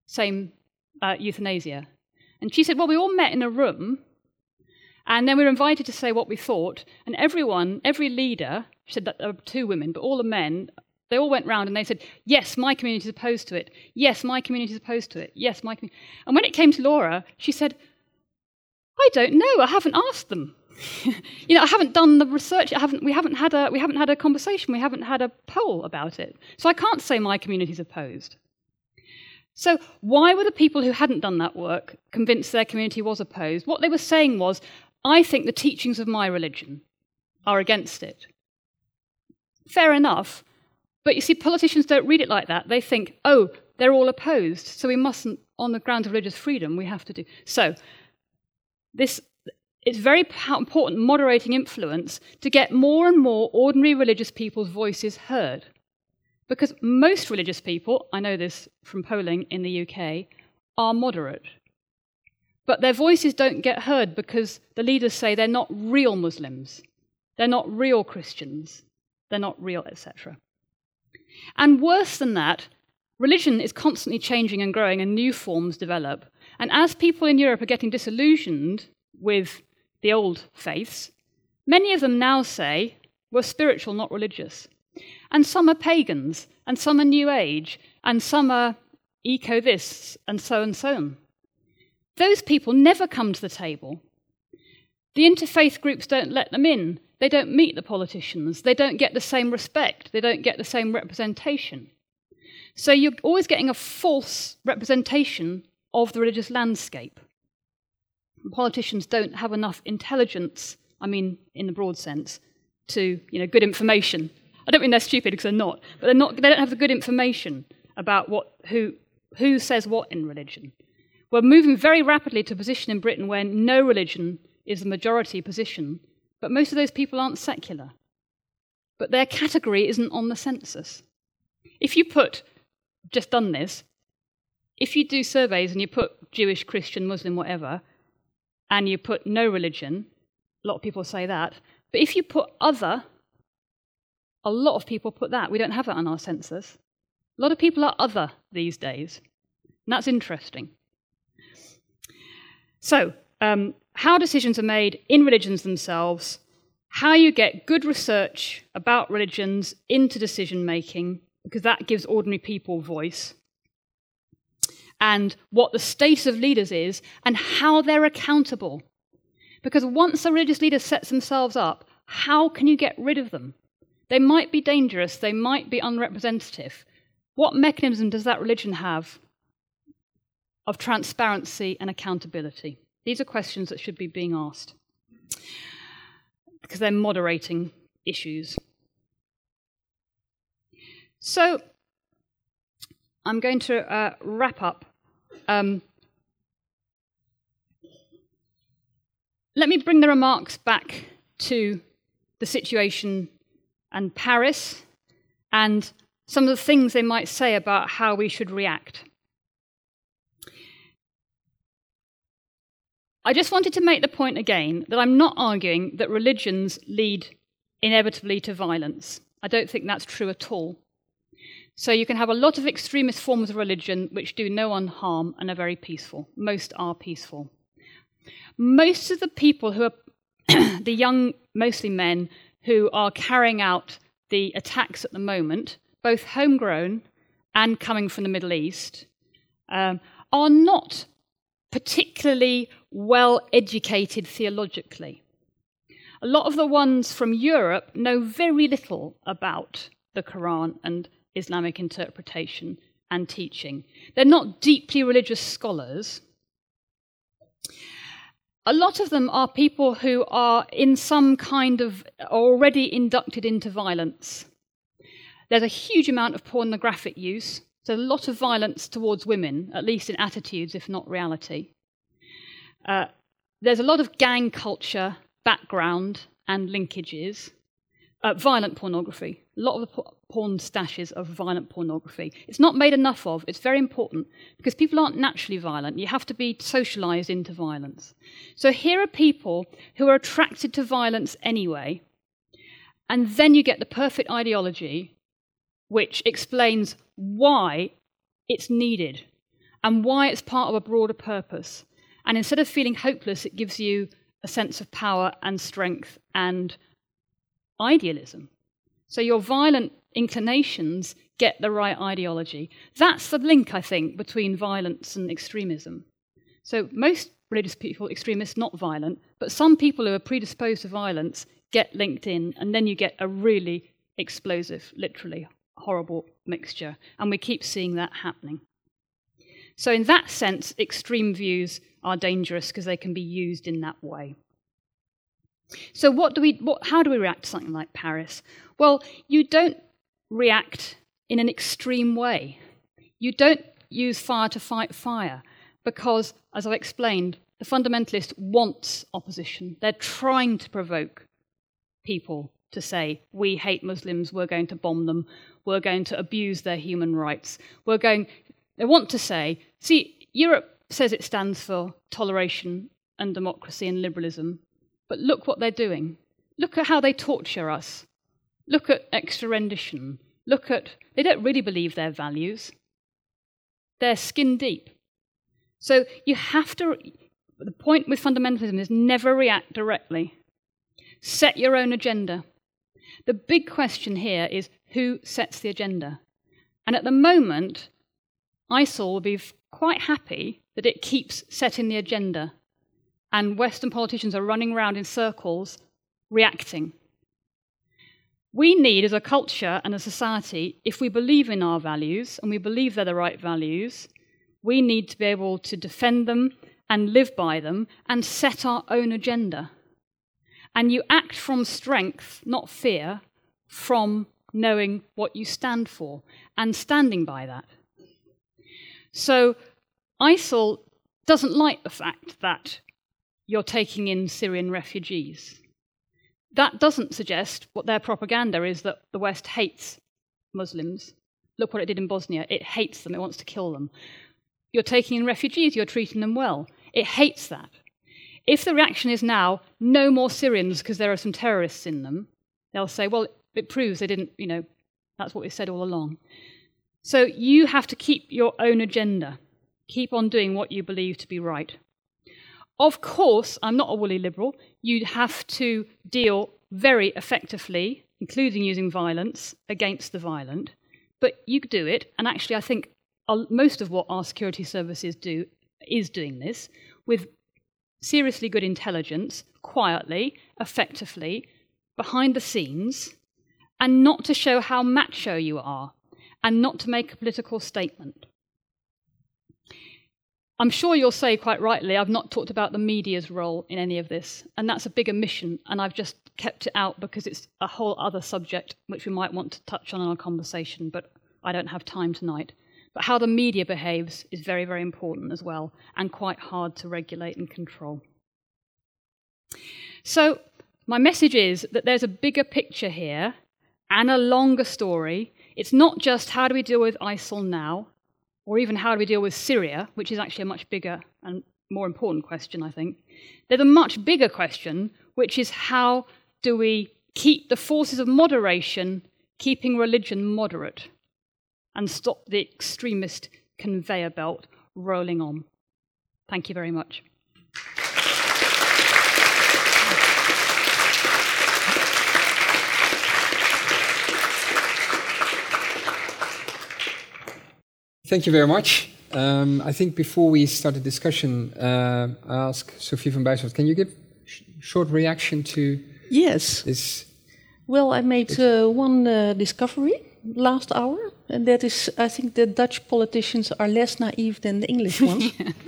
euthanasia? And she said, well, we all met in a room, and then we were invited to say what we thought, and every leader, she said that there were 2 women, but all the men, they all went round and they said, yes, my community is opposed to it. Yes, my community is opposed to it. Yes, my community. And when it came to Laura, she said, I don't know. I haven't asked them. I haven't done the research. We haven't had a conversation. We haven't had a poll about it. So I can't say my community is opposed. So why were the people who hadn't done that work convinced their community was opposed? What they were saying was, I think the teachings of my religion are against it. Fair enough. But you see, politicians don't read it like that. They think, oh, they're all opposed, so we mustn't, on the grounds of religious freedom, we have to do. So it's very important moderating influence to get more and more ordinary religious people's voices heard. Because most religious people, I know this from polling in the UK, are moderate. But their voices don't get heard because the leaders say they're not real Muslims, they're not real Christians, they're not real, etc. And worse than that, religion is constantly changing and growing and new forms develop. And as people in Europe are getting disillusioned with the old faiths, many of them now say, we're spiritual, not religious. And some are pagans, and some are New Age, and some are eco-this, and so on. Those people never come to the table. The interfaith groups don't let them in. They don't meet the politicians. They don't get the same respect. They don't get the same representation. So you're always getting a false representation of the religious landscape. Politicians don't have enough intelligence, I mean, in the broad sense, to, good information. I don't mean they're stupid, because they're not, but they don't have the good information about who says what in religion. We're moving very rapidly to a position in Britain where no religion is the majority position, but most of those people aren't secular. But their category isn't on the census. If you do surveys and you put Jewish, Christian, Muslim, whatever, and you put no religion, a lot of people say that, but if you put other, a lot of people put that. We don't have that on our census. A lot of people are other these days, and that's interesting. So, how decisions are made in religions themselves, how you get good research about religions into decision-making, because that gives ordinary people voice, and what the status of leaders is, and how they're accountable. Because once a religious leader sets themselves up, how can you get rid of them? They might be dangerous, they might be unrepresentative. What mechanism does that religion have of transparency and accountability? These are questions that should be being asked, because they're moderating issues. So, I'm going to wrap up. Let me bring the remarks back to the situation and Paris and some of the things they might say about how we should react. I just wanted to make the point again that I'm not arguing that religions lead inevitably to violence. I don't think that's true at all. So you can have a lot of extremist forms of religion which do no one harm and are very peaceful. Most are peaceful. Most of the people who are the young, mostly men, who are carrying out the attacks at the moment, both homegrown and coming from the Middle East, are not particularly well educated theologically. A lot of the ones from Europe know very little about the Quran and Islamic interpretation and teaching. They're not deeply religious scholars. A lot of them are people who are in some kind of already inducted into violence. There's a huge amount of pornographic use. There's a lot of violence towards women, at least in attitudes, if not reality. There's a lot of gang culture, background, and linkages. Violent pornography. A lot of the porn stashes of violent pornography. It's not made enough of. It's very important because people aren't naturally violent. You have to be socialized into violence. So here are people who are attracted to violence anyway, and then you get the perfect ideology which explains why it's needed and why it's part of a broader purpose. And instead of feeling hopeless, it gives you a sense of power and strength and idealism. So your violent inclinations get the right ideology. That's the link, I think, between violence and extremism. So most religious people, extremists, not violent, but some people who are predisposed to violence get linked in, and then you get a really explosive, literally horrible mixture. And we keep seeing that happening. So in that sense, extreme views are dangerous because they can be used in that way. So how do we react to something like Paris? Well, you don't react in an extreme way. You don't use fire to fight fire because, as I've explained, the fundamentalist wants opposition. They're trying to provoke people to say, we hate Muslims, we're going to bomb them, we're going to abuse their human rights. They want to say, see, Europe says it stands for toleration and democracy and liberalism, but look what they're doing. Look at how they torture us. Look at extra rendition. They don't really believe their values. They're skin deep. So you have to, the point with fundamentalism is never react directly. Set your own agenda. The big question here is who sets the agenda? And at the moment, ISIL will be quite happy that it keeps setting the agenda, and Western politicians are running around in circles reacting. We need, as a culture and a society, if we believe in our values, and we believe they're the right values, we need to be able to defend them and live by them and set our own agenda. And you act from strength, not fear, from knowing what you stand for and standing by that. So ISIL doesn't like the fact that you're taking in Syrian refugees. That doesn't suggest what their propaganda is, that the West hates Muslims. Look what it did in Bosnia. It hates them. It wants to kill them. You're taking in refugees. You're treating them well. It hates that. If the reaction is now, no more Syrians because there are some terrorists in them, they'll say, well, it proves they didn't, that's what we said all along. So you have to keep your own agenda. Keep on doing what you believe to be right. Of course, I'm not a woolly liberal. You have to deal very effectively, including using violence, against the violent. But you do it, and actually I think most of what our security services do is doing this, with seriously good intelligence, quietly, effectively, behind the scenes, and not to show how macho you are, and not to make a political statement. I'm sure you'll say quite rightly, I've not talked about the media's role in any of this, and that's a big omission, and I've just kept it out because it's a whole other subject which we might want to touch on in our conversation, but I don't have time tonight. But how the media behaves is very, very important as well, and quite hard to regulate and control. So my message is that there's a bigger picture here and a longer story. It's not just how do we deal with ISIL now, or even how do we deal with Syria, which is actually a much bigger and more important question, I think. There's a much bigger question, which is how do we keep the forces of moderation, keeping religion moderate, and stop the extremist conveyor belt rolling on. Thank you very much. Thank you very much. I think before we start the discussion, I ask Sophie van Bijswart, can you give a short reaction to this? Well, I made one discovery last hour, and that is, I think the Dutch politicians are less naive than the English ones.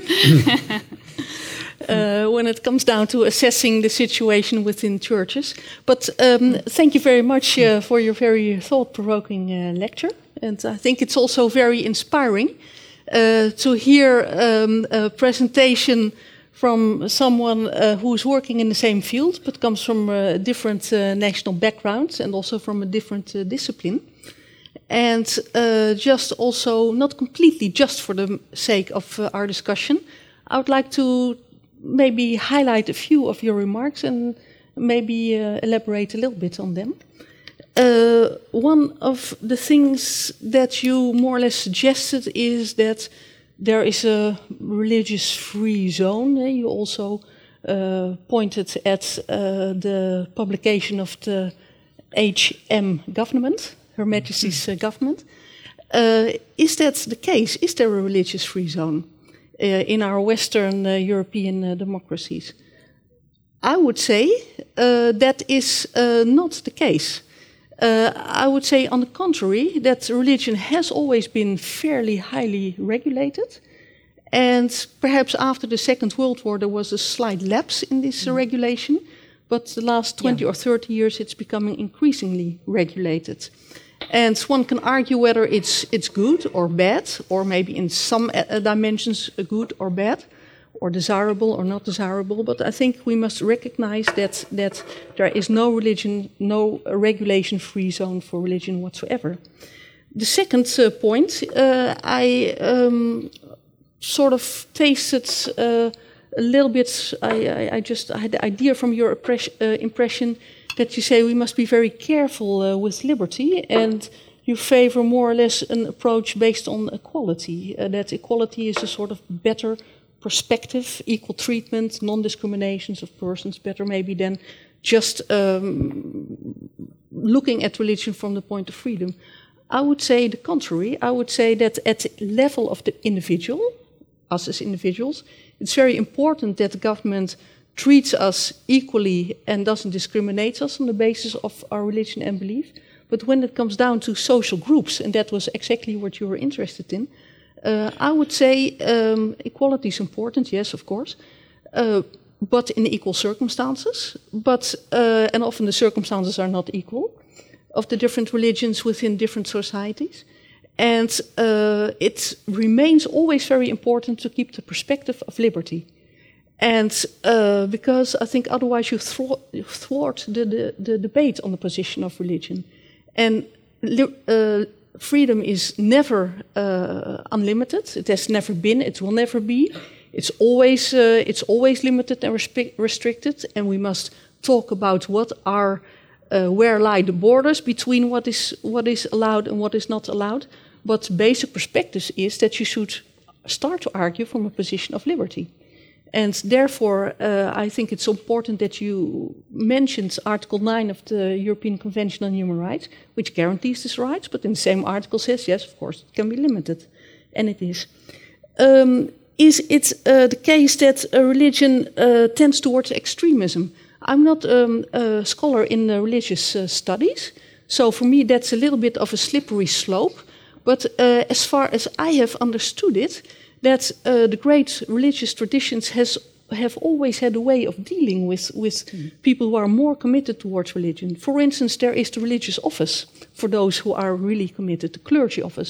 When it comes down to assessing the situation within churches. But thank you very much for your very thought-provoking lecture. And I think it's also very inspiring to hear a presentation from someone who's working in the same field, but comes from a different national background and also from a different discipline. And just also, not completely just for the sake of our discussion, I would like to maybe highlight a few of your remarks and maybe elaborate a little bit on them. One of the things that you more or less suggested is that there is a religious-free zone. You also pointed at the publication of the HM government, Her Majesty's government. Is that the case? Is there a religious-free zone in our Western European democracies? I would say that is not the case. I would say, on the contrary, that religion has always been fairly highly regulated. And perhaps after the Second World War, there was a slight lapse in this regulation. But the last 20 or 30 years, it's becoming increasingly regulated. And one can argue whether it's good or bad, or maybe in some dimensions good or bad, or desirable or not desirable. But I think we must recognize that there is no regulation-free zone for religion whatsoever. The second point, I sort of tasted a little bit, I had the idea from your impression that you say we must be very careful with liberty, and you favor more or less an approach based on equality, that equality is a sort of better perspective, equal treatment, non-discriminations of persons, better maybe than just looking at religion from the point of freedom. I would say the contrary. I would say that at the level of the individual, us as individuals, it's very important that the government treats us equally and doesn't discriminate us on the basis of our religion and belief. But when it comes down to social groups, and that was exactly what you were interested in, I would say equality is important, yes, of course, but in equal circumstances. And often the circumstances are not equal of the different religions within different societies. And it remains always very important to keep the perspective of liberty. And because I think otherwise you thwart the debate on the position of religion. And freedom is never unlimited. It has never been. It will never be. It's always limited and restricted. And we must talk about where lie the borders between what is allowed and what is not allowed. But basic perspective is that you should start to argue from a position of liberty. And therefore, I think it's important that you mentioned Article 9 of the European Convention on Human Rights, which guarantees these rights, but in the same article says, yes, of course, it can be limited. And it is. Is it the case that religion tends towards extremism? I'm not a scholar in religious studies, so for me that's a little bit of a slippery slope. But as far as I have understood it, that the great religious traditions have always had a way of dealing with people who are more committed towards religion. For instance, there is the religious office for those who are really committed, the clergy office.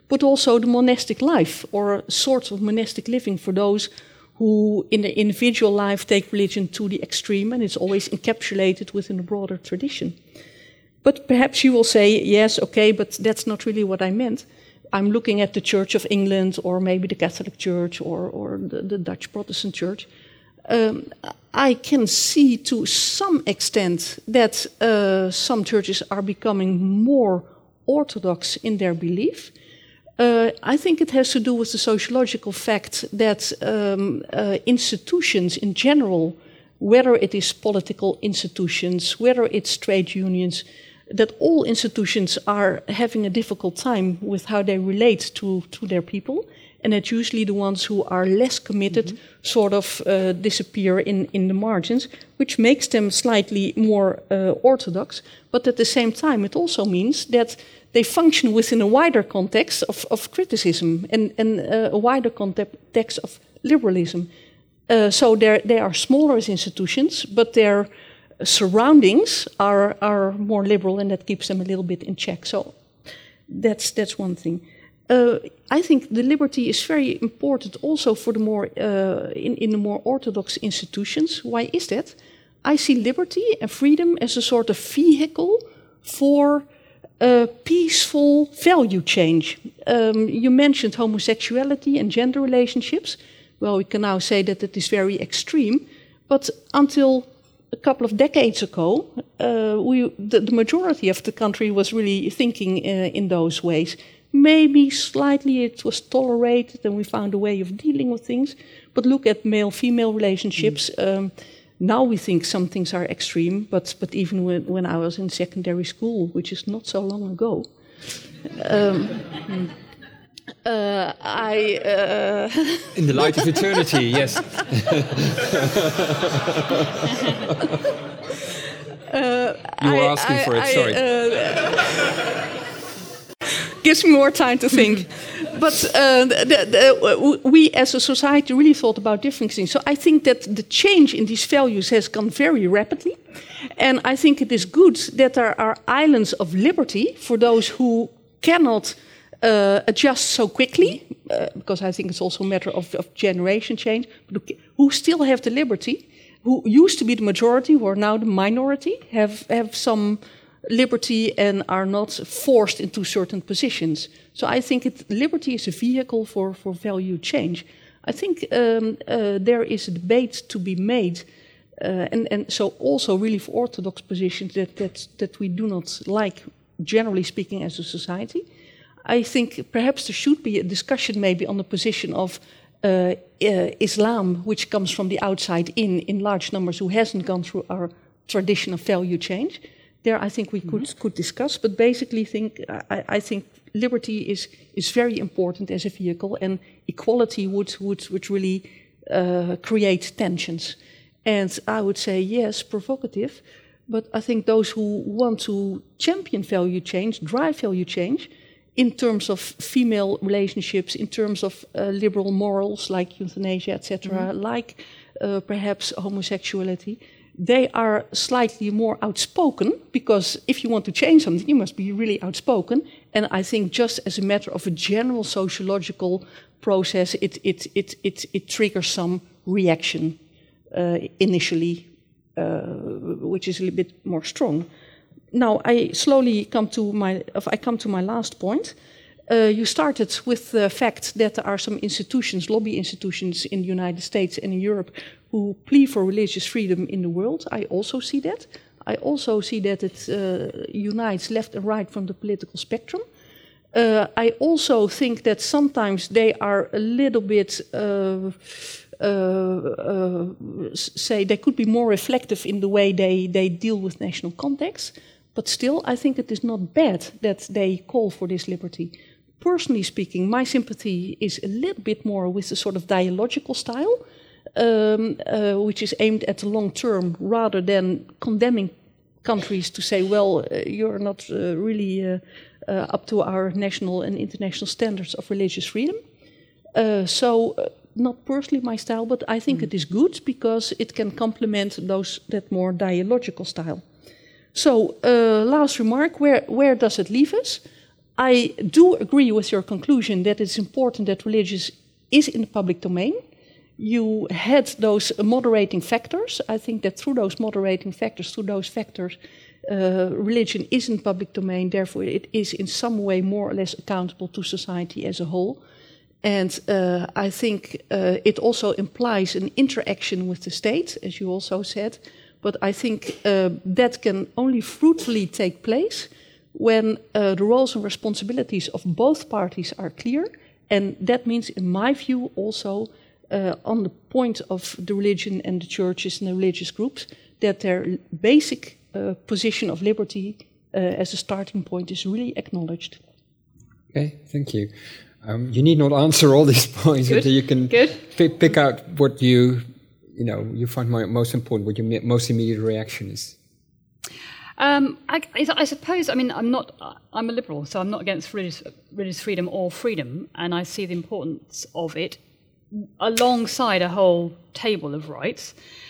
but also the monastic life, or sorts of monastic living for those who in their individual life take religion to the extreme, and it's always encapsulated within a broader tradition. But perhaps you will say, yes, okay, but that's not really what I meant. I'm looking at the Church of England, or maybe the Catholic Church, or the Dutch Protestant Church. I can see to some extent that some churches are becoming more orthodox in their belief. I think it has to do with the sociological fact that institutions in general, whether it is political institutions, whether it's trade unions, that all institutions are having a difficult time with how they relate to their people, and that usually the ones who are less committed sort of disappear in the margins, which makes them slightly more orthodox. But at the same time, it also means that they function within a wider context of criticism and a wider context of liberalism. So they are smaller as institutions, but their surroundings are more liberal, and that keeps them a little bit in check. So that's one thing. I think the liberty is very important also for the more in the more orthodox institutions. Why is that? I see liberty and freedom as a sort of vehicle for peaceful value change. You mentioned homosexuality and gender relationships. Well, we can now say that it is very extreme, but until a couple of decades ago, the majority of the country was really thinking in those ways. Maybe slightly it was tolerated and we found a way of dealing with things. But look at male-female relationships. Now we think some things are extreme, but even when I was in secondary school, which is not so long ago, in the light of eternity, yes. You were asking for it, sorry. Gives me more time to think. But we as a society really thought about different things. So I think that the change in these values has gone very rapidly. And I think it is good that there are islands of liberty for those who cannot adjust so quickly, because I think it's also a matter of generation change, but who still have the liberty, who used to be the majority, who are now the minority, have some liberty and are not forced into certain positions. So I think liberty is a vehicle for value change. I think there is a debate to be made, and so also really for orthodox positions that we do not like, generally speaking, as a society. I think perhaps there should be a discussion maybe on the position of Islam, which comes from the outside in large numbers, who hasn't gone through our tradition of value change. There, I think we could discuss, but basically, I think liberty is very important as a vehicle, and equality would really create tensions. And I would say yes, provocative, but I think those who want to champion value change, drive value change, in terms of female relationships, in terms of liberal morals like euthanasia, etc., like perhaps homosexuality, they are slightly more outspoken, because if you want to change something, you must be really outspoken. And I think just as a matter of a general sociological process, it triggers some reaction initially, which is a little bit more strong. Now I slowly come to my last point. You started with the fact that there are some institutions, lobby institutions in the United States and in Europe, who plea for religious freedom in the world. I also see that. I also see that it unites left and right from the political spectrum. I also think that sometimes they are a little bit, say, they could be more reflective in the way they deal with national context. But still, I think it is not bad that they call for this liberty. Personally speaking, my sympathy is a little bit more with the sort of dialogical style, which is aimed at the long term, rather than condemning countries to say, well, you're not really up to our national and international standards of religious freedom. Not personally my style, but I think it is good because it can complement that more dialogical style. So, last remark, where does it leave us? I do agree with your conclusion that it's important that religion is in the public domain. You had those moderating factors. I think that through those factors, religion is in public domain. Therefore, it is in some way more or less accountable to society as a whole. And I think it also implies an interaction with the state, as you also said. But I think that can only fruitfully take place when the roles and responsibilities of both parties are clear. And that means, in my view, also on the point of the religion and the churches and the religious groups, that their basic position of liberty as a starting point is really acknowledged. Okay, thank you. You need not answer all these points, but you can pick out what you find most important, what your most immediate reaction is. I suppose, I'm a liberal, so I'm not against religious freedom or freedom, and I see the importance of it alongside a whole table of rights.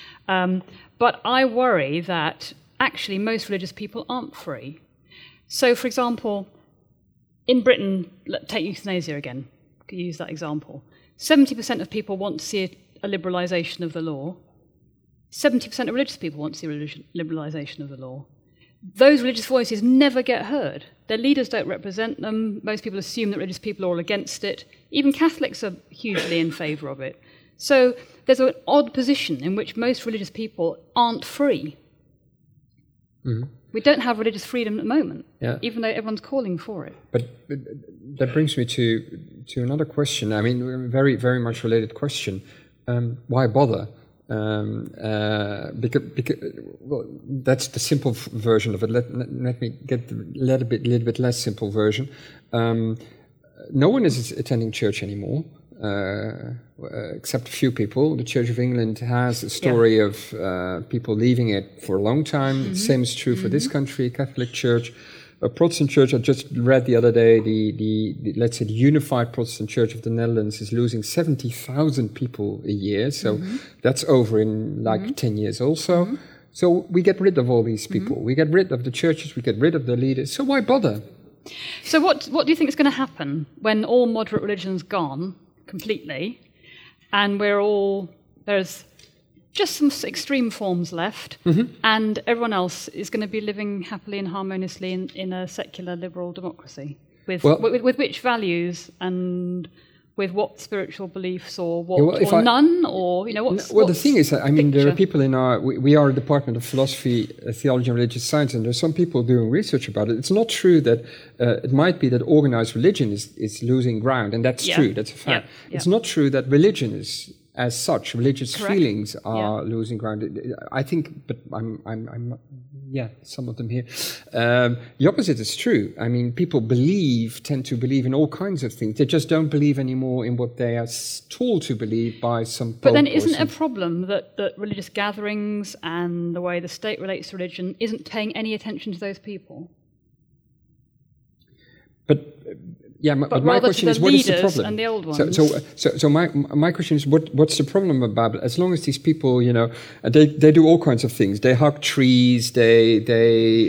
But I worry that actually most religious people aren't free. So, for example, in Britain, take euthanasia again, to use that example. 70% of people want to see a liberalisation of the law. 70% of religious people want to see a liberalisation of the law. Those religious voices never get heard. Their leaders don't represent them. Most people assume that religious people are all against it. Even Catholics are hugely in favour of it. So there's an odd position in which most religious people aren't free. Mm-hmm. We don't have religious freedom at the moment, even though everyone's calling for it. But that brings me to another question. I mean, very, very much related question. Why bother? Because that's the simple version of it. Let me get the little bit less simple version. No one is attending church anymore, except a few people. The Church of England has a story of people leaving it for a long time. Mm-hmm. Same is true for this country, Catholic Church. A Protestant church, I just read the other day, the let's say the Unified Protestant Church of the Netherlands is losing 70,000 people a year. So that's over in 10 years also. Mm-hmm. So we get rid of all these people. We get rid of the churches, we get rid of the leaders. So why bother? So what do you think is going to happen when all moderate religion's gone completely and there's just some extreme forms left, and everyone else is going to be living happily and harmoniously in a secular liberal democracy with which values and with what spiritual beliefs or none, or the thing is, there are people in we are a department of philosophy, theology, and religious science, and there's some people doing research about it. It's not true that it might be that organized religion is losing ground, and that's true. That's a fact. Yeah. It's not true that religion is. As such, religious feelings are losing ground. I think, but I'm some of them here. The opposite is true. I mean, people tend to believe in all kinds of things. They just don't believe anymore in what they are told to believe by some pope. But then isn't it a problem that religious gatherings and the way the state relates to religion isn't paying any attention to those people? But my question is, what is the problem? And the old ones. So my question is, what's the problem about it? As long as these people, they do all kinds of things. They hug trees. They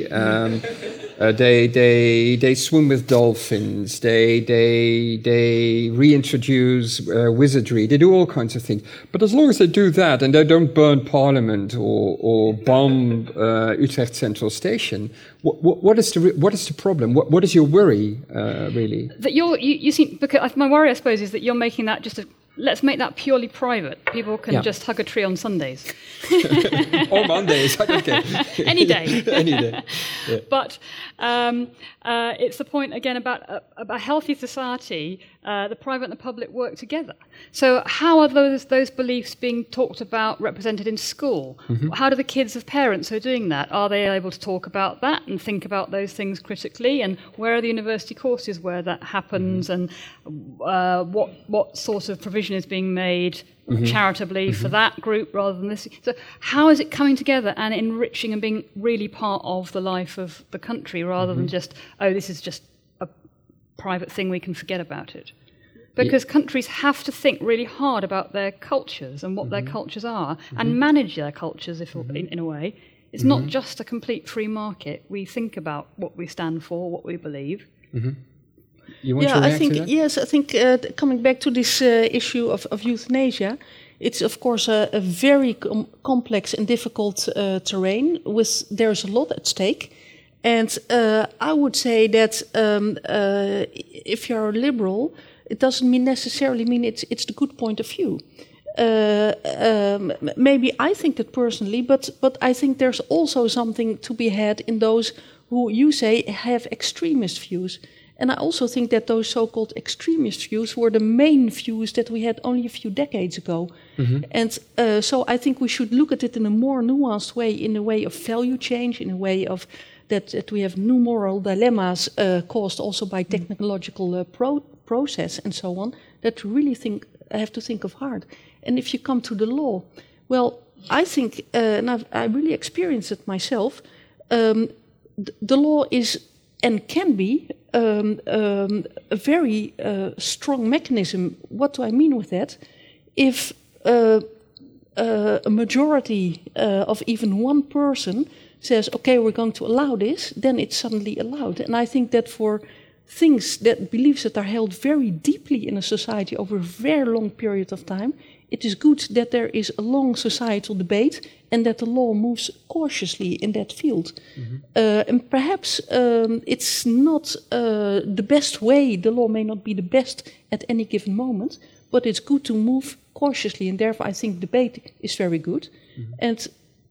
swim with dolphins. They reintroduce wizardry. They do all kinds of things. But as long as they do that and they don't burn Parliament or bomb Utrecht Central Station, what is the problem? What is your worry, really? That you seem, because my worry, I suppose, is that you're making that let's make that purely private. People can just hug a tree on Sundays. Or Mondays, I don't care. Any day. Any day. Yeah. But it's the point, again, about a healthy society, the private and the public work together. So how are those beliefs being talked about, represented in school? Mm-hmm. How do the kids of parents who are doing that, are they able to talk about that and think about those things critically? And where are the university courses where that happens? And what sort of provision is being made charitably for that group rather than this? So how is it coming together and enriching and being really part of the life of the country rather than just, this is just a private thing, we can forget about it? Because countries have to think really hard about their cultures and what their cultures are and manage their cultures in a way. It's not just a complete free market. We think about what we stand for, what we believe. You want to react to that? Yes, I think coming back to this issue of euthanasia, it's of course a very complex and difficult terrain. There's a lot at stake, and I would say that if you're a liberal, it doesn't necessarily mean it's the good point of view. Maybe I think that personally, but I think there's also something to be had in those who you say have extremist views. And I also think that those so-called extremist views were the main views that we had only a few decades ago. Mm-hmm. And so I think we should look at it in a more nuanced way, in a way of value change, in a way of that we have new moral dilemmas caused also by technological process and so on, that really have to think of hard. And if you come to the law, well, I think, and I really experienced it myself, the law is and can be a very strong mechanism. What do I mean with that? If a majority of even one person says, okay, we're going to allow this, then it's suddenly allowed. And I think that for beliefs that are held very deeply in a society over a very long period of time, it is good that there is a long societal debate and that the law moves cautiously in that field. Mm-hmm. And perhaps it's not the best way, the law may not be the best at any given moment, but it's good to move cautiously, and therefore I think debate is very good. Mm-hmm. And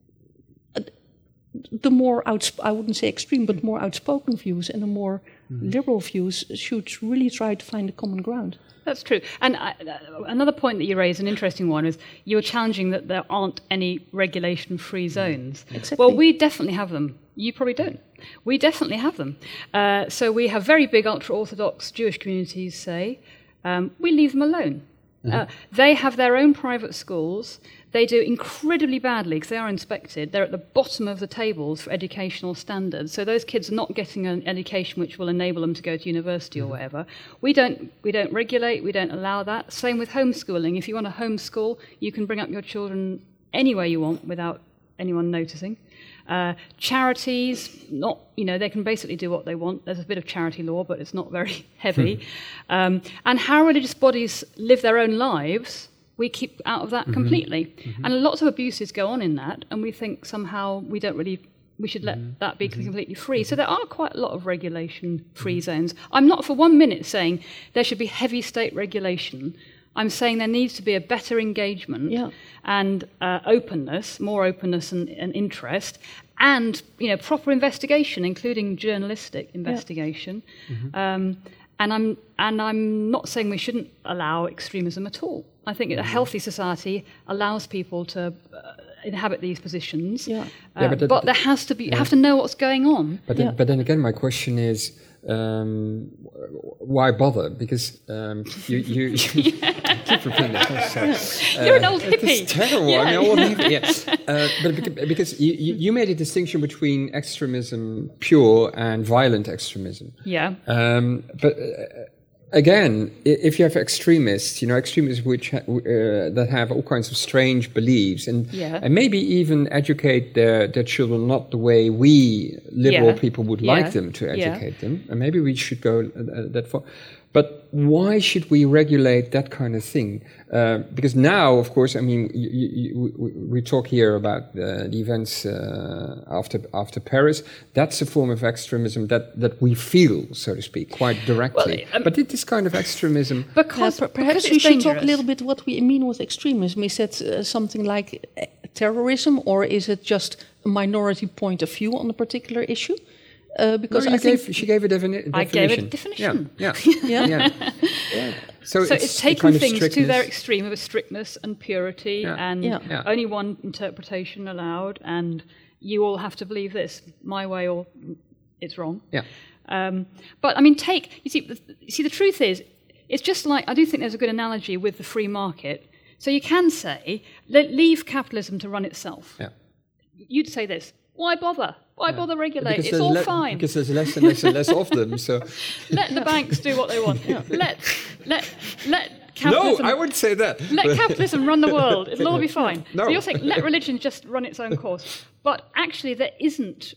the more, I wouldn't say extreme, but more outspoken views and the more liberal views should really try to find a common ground. That's true. And another point that you raised, an interesting one, is you're challenging that there aren't any regulation-free zones. Exactly. Well, we definitely have them. You probably don't. We definitely have them. So we have very big ultra-Orthodox Jewish communities say, we leave them alone. Mm-hmm. They have their own private schools. They do incredibly badly because they are inspected. They're at the bottom of the tables for educational standards. So those kids are not getting an education which will enable them to go to university or whatever. We don't regulate. We don't allow that. Same with homeschooling. If you want to homeschool, you can bring up your children anywhere you want without anyone noticing. Charities, they can basically do what they want. There's a bit of charity law, but it's not very heavy. And how religious bodies live their own lives, we keep out of that completely. Mm-hmm. And lots of abuses go on in that, and we think somehow we should let that be completely free. So there are quite a lot of regulation-free zones. I'm not for 1 minute saying there should be heavy state regulation. I'm saying there needs to be a better engagement and openness, more openness and interest, and proper investigation, including journalistic investigation. Yeah. And I'm not saying we shouldn't allow extremism at all. I think a healthy society allows people to inhabit these positions. Yeah. But there has to be. You have to know what's going on. But then again, my question is, why bother? Because you keep repeating that. You're an old hippie. It's terrible. Yeah. I'm an old hippie. Yeah. But because you made a distinction between extremism pure and violent extremism. Yeah. But again, if you have extremists which that have all kinds of strange beliefs and maybe even educate their children not the way we liberal people would like them to educate them, and maybe we should go that far. But why should we regulate that kind of thing? Because now, of course, I mean, we talk here about the events after Paris. That's a form of extremism that we feel, so to speak, quite directly. Well, but this kind of extremism... Perhaps we should talk a little bit what we mean with extremism. Is that something like terrorism, or is it just a minority point of view on a particular issue? Because she gave a definition. I gave it a definition. Yeah. So it's taking things to their extreme of strictness and purity, and only one interpretation allowed, and you all have to believe this my way or it's wrong. Yeah. But I mean, you see, the truth is, it's just like, I do think there's a good analogy with the free market. So you can say, leave capitalism to run itself. Yeah. You'd say this: why bother? Why bother regulate? It's all fine. Because there's less and less and less of them. So let the banks do what they want. Let capitalism. No, I wouldn't say that. Let capitalism run the world. It'll all be fine. No. So you're saying let religion just run its own course. But actually, there isn't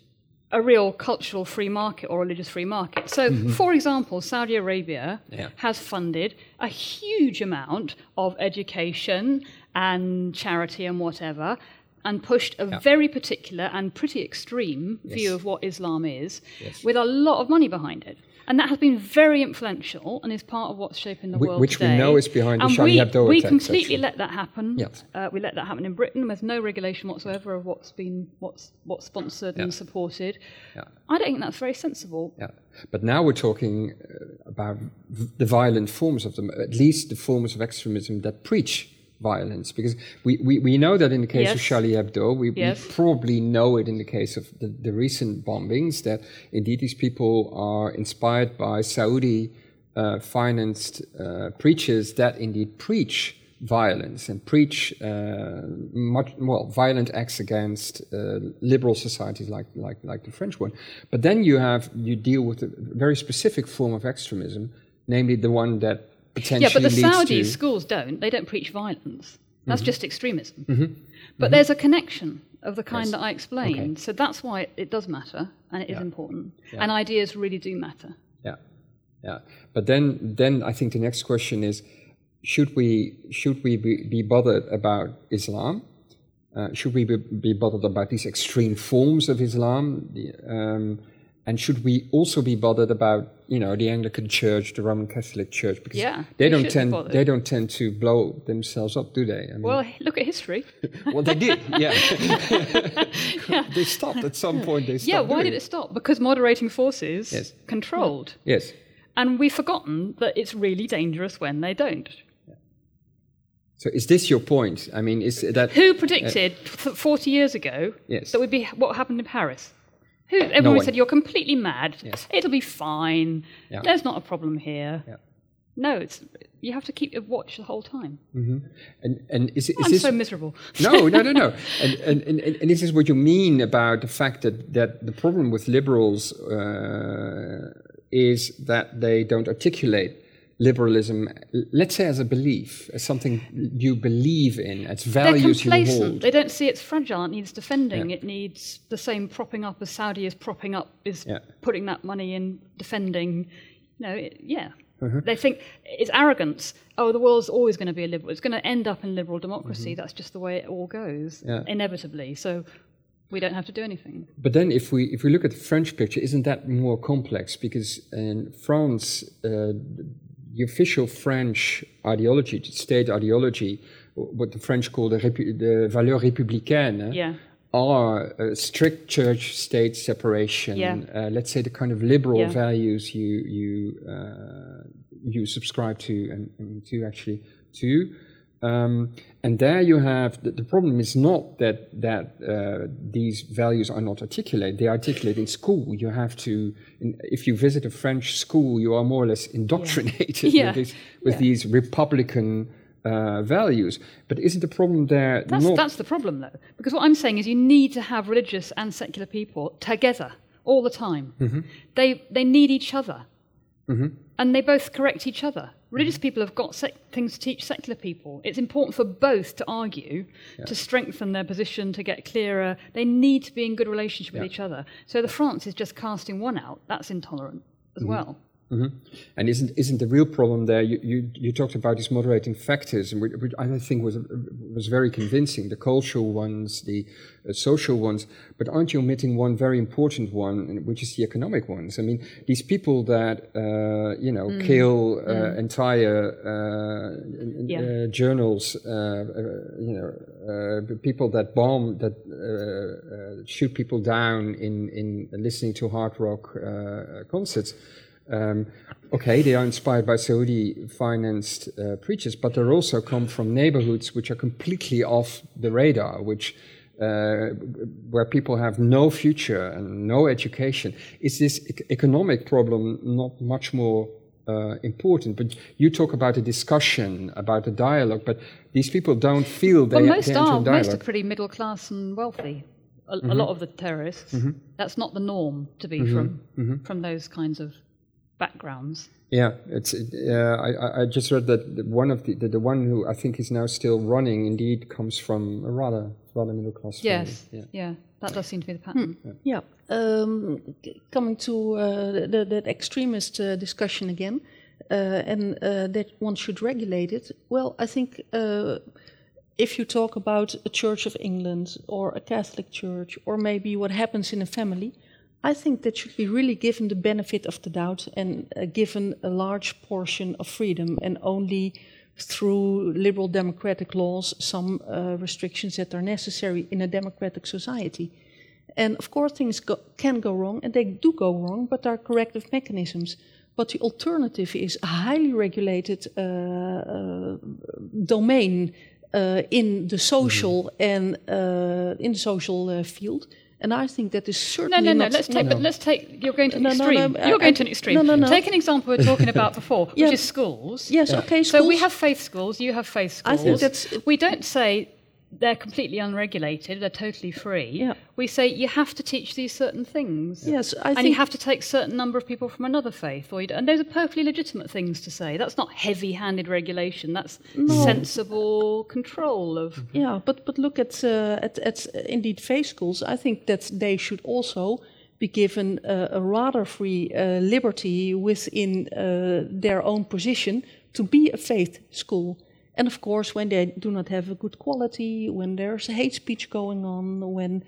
a real cultural free market or religious free market. So, for example, Saudi Arabia has funded a huge amount of education and charity and whatever, and pushed a very particular and pretty extreme view of what Islam is, with a lot of money behind it. And that has been very influential and is part of what's shaping the world which today. we know is behind the Charlie Hebdo we attacks, completely actually. let that happen. Yes. We let that happen in Britain. There's no regulation whatsoever of what's sponsored and supported. Yeah. I don't think that's very sensible. Yeah. But now we're talking about the violent forms of them, at least the forms of extremism that preach violence, because we know that in the case of Charlie Hebdo, we probably know it in the case of the recent bombings, that indeed these people are inspired by Saudi financed preachers that indeed preach violence and preach violent acts against liberal societies like the French one. But then you deal with a very specific form of extremism, namely the one that but the Saudi schools they don't preach violence. That's just extremism. But there's a connection of the kind that I explained. Okay. So that's why it does matter, and it is important. Yeah. And ideas really do matter. Yeah. But then I think the next question is, should we be bothered about Islam? Should we be bothered about these extreme forms of Islam? And should we also be bothered about, the Anglican Church, the Roman Catholic Church? Because they don't tend to blow themselves up, do they? I mean, well, look at history. Well, they did, They stopped at some point. Why did it stop? Because moderating forces controlled. Yes. And we've forgotten that it's really dangerous when they don't. So is this your point? I mean, is that... Who predicted 40 years ago that would be what happened in Paris? Everyone said, you're completely mad. Yes. It'll be fine. Yeah. There's not a problem here. Yeah. No, you have to keep a watch the whole time. And is I'm so miserable. No. And this is what you mean about the fact that the problem with liberals is that they don't articulate liberalism, let's say as a belief, as something you believe in, as values you hold. They're complacent. They don't see it's fragile. It needs defending. It needs the same propping up as Saudi is propping up, putting that money in defending. They think it's arrogance. Oh, the world's always going to be a liberal. It's going to end up in liberal democracy. That's just the way it all goes, inevitably. So we don't have to do anything. But then if we look at the French picture, isn't that more complex? Because in France... the official French ideology, state ideology, what the French call the valeurs républicaines, are strict church-state separation. Let's say the kind of liberal values you subscribe to and to actually to. And there you have the problem is not that these values are not articulated. They are articulated in school. You have to, if you visit a French school, you are more or less indoctrinated with these republican values. But isn't the problem there? That's the problem, though, because what I'm saying is you need to have religious and secular people together all the time. They need each other, and they both correct each other. Religious people have got things to teach secular people. It's important for both to argue, to strengthen their position, to get clearer. They need to be in good relationship with each other. So the France is just casting one out. That's intolerant as well. And isn't the real problem there? You talked about these moderating factors, and which I think was very convincing. The cultural ones, the social ones, but aren't you omitting one very important one, which is the economic ones? I mean, these people that kill entire journals, people that bomb, that shoot people down in listening to hard rock concerts. They are inspired by Saudi-financed preachers, but they also come from neighborhoods which are completely off the radar, where people have no future and no education. Is this economic problem not much more important? But you talk about a discussion, about a dialogue, but these people don't feel they enter in dialogue. Most are pretty middle class and wealthy. A lot of the terrorists. That's not the norm to be from those kinds of backgrounds. Yeah, I just read that one of the one who I think is now still running indeed comes from a rather middle class family. Yes, yeah, that does seem to be the pattern. Yeah, coming to the extremist discussion again, and that one should regulate it. Well, I think if you talk about a Church of England or a Catholic church or maybe what happens in a family, I think that should be really given the benefit of the doubt and given a large portion of freedom, and only through liberal democratic laws some restrictions that are necessary in a democratic society. And of course things can go wrong, and they do go wrong, but there are corrective mechanisms. But the alternative is a highly regulated domain in the social and in the social field. And I think that is certainly not... Let's take... You're going to an extreme. You're going to an extreme. Take an example we were talking about before, which is schools. Yes, okay, schools. So we have faith schools, you have faith schools. I think that's... We don't say they're completely unregulated, they're totally free. Yeah. We say you have to teach these certain things. Yes, I and think... you have to take a certain number of people from another faith. And those are perfectly legitimate things to say. That's not heavy-handed regulation. That's sensible control of... Yeah, but look at indeed faith schools. I think that they should also be given a rather free liberty within their own position to be a faith school. And of course, when they do not have a good quality, when there's hate speech going on, when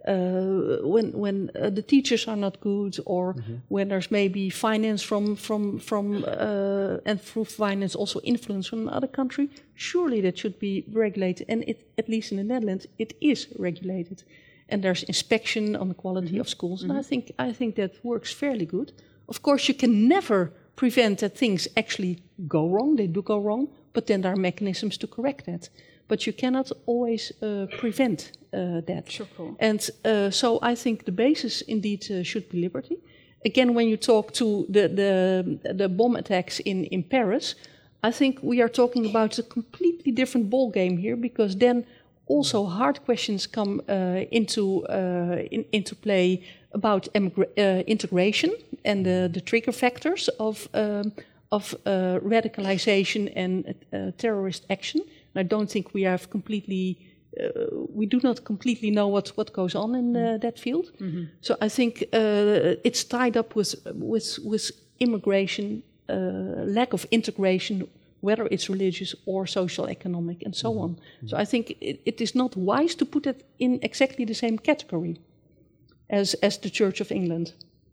the teachers are not good, or when there's maybe finance from and through finance also influence from another country, surely that should be regulated. And at least in the Netherlands, it is regulated. And there's inspection on the quality of schools. And I think that works fairly good. Of course, you can never prevent that things actually go wrong. They do go wrong. But then there are mechanisms to correct that. But you cannot always prevent that. Sure. And so I think the basis indeed should be liberty. Again, when you talk to the bomb attacks in Paris, I think we are talking about a completely different ballgame here, because then also hard questions come into play about integration and the trigger factors of radicalization and terrorist action. And I don't think we have we do not completely know what goes on in that field. So I think it's tied up with immigration, lack of integration, whether it's religious or social, economic, and so on. So I think it is not wise to put it in exactly the same category as the Church of England.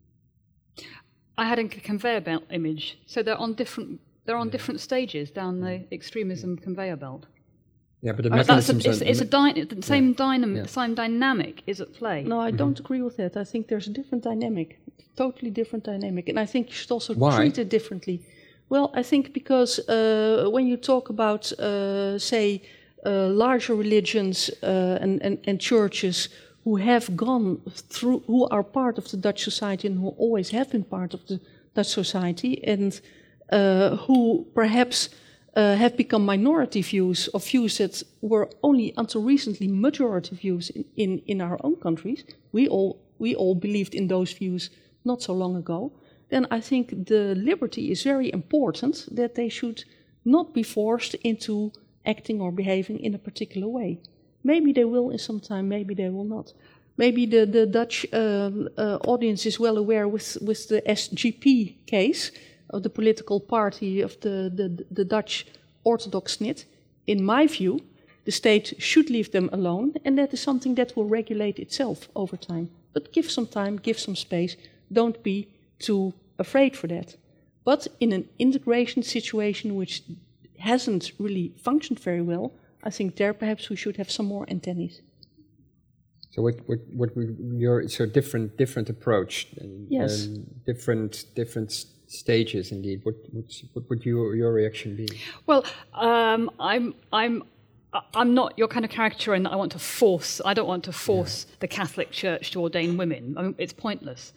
I had a conveyor belt image, so they're on different stages down the extremism conveyor belt. Yeah, but the mechanisms the same dynamic is at play. No, I don't agree with that. I think there's a different dynamic, totally different dynamic, and I think you should also treat it differently. Well, I think because when you talk about, say, larger religions and churches who have gone through, who are part of the Dutch society and who always have been part of the Dutch society, and who perhaps have become minority views, or views that were only until recently majority views in our own countries. We all believed in those views not so long ago. Then I think the liberty is very important, that they should not be forced into acting or behaving in a particular way. Maybe they will in some time, maybe they will not. Maybe the Dutch audience is well aware with the SGP case of the political party of the Dutch Orthodox NIT. In my view, the state should leave them alone, and that is something that will regulate itself over time. But give some time, give some space. Don't be too afraid for that. But in an integration situation which hasn't really functioned very well, I think there perhaps we should have some more antennaes. So different approach. Yes. Different stages indeed. What would your reaction be? Well, I'm not your kind of caricature in that I don't want to force the Catholic Church to ordain women. I mean, it's pointless.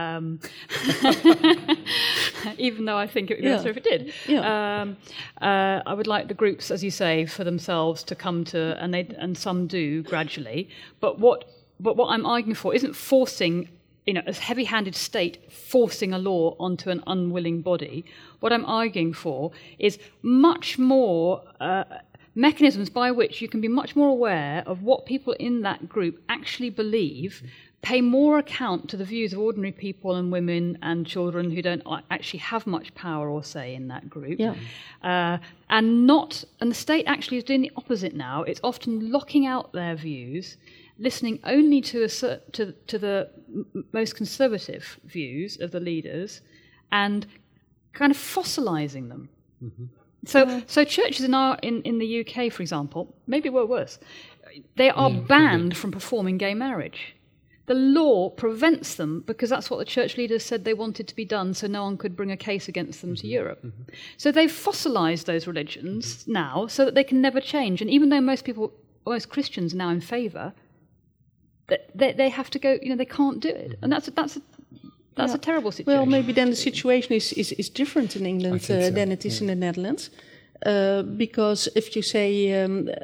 Even though I think it would be better if it did. Yeah. I would like the groups, as you say, for themselves to come to, and some do gradually. But what I'm arguing for isn't forcing a heavy-handed state forcing a law onto an unwilling body. What I'm arguing for is much more mechanisms by which you can be much more aware of what people in that group actually believe, pay more account to the views of ordinary people and women and children who don't actually have much power or say in that group. And the state actually is doing the opposite now. It's often locking out their views, listening only to the most conservative views of the leaders, and kind of fossilizing them. So churches in the UK, for example, maybe were worse. They are banned from performing gay marriage. The law prevents them because that's what the church leaders said they wanted to be done, so no one could bring a case against them to Europe. So they've fossilized those religions now so that they can never change. And even though most Christians are now in favour, they have to go, they can't do it. And that's a terrible situation. Well, maybe then the situation is different in England than it is in the Netherlands. Because if you say,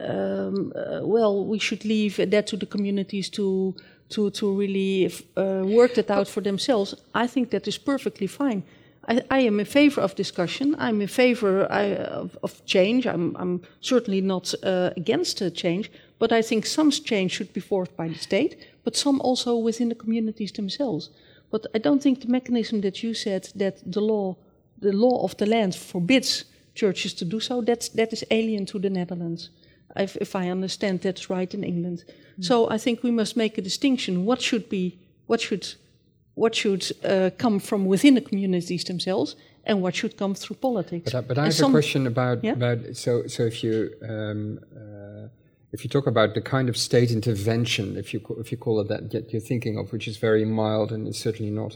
we should leave that to the communities to really work that out for themselves, I think that is perfectly fine. I am in favor of discussion. I'm in favor of change. I'm certainly not against change, but I think some change should be forced by the state, but some also within the communities themselves. But I don't think the mechanism that you said, that the law of the land forbids churches to do so, that is alien to the Netherlands, if I understand that's right in England. So I think we must make a distinction. What should come from within the communities themselves, and what should come through politics. But I have a question about so if you talk about the kind of state intervention, if you call it that you're thinking of, which is very mild and is certainly not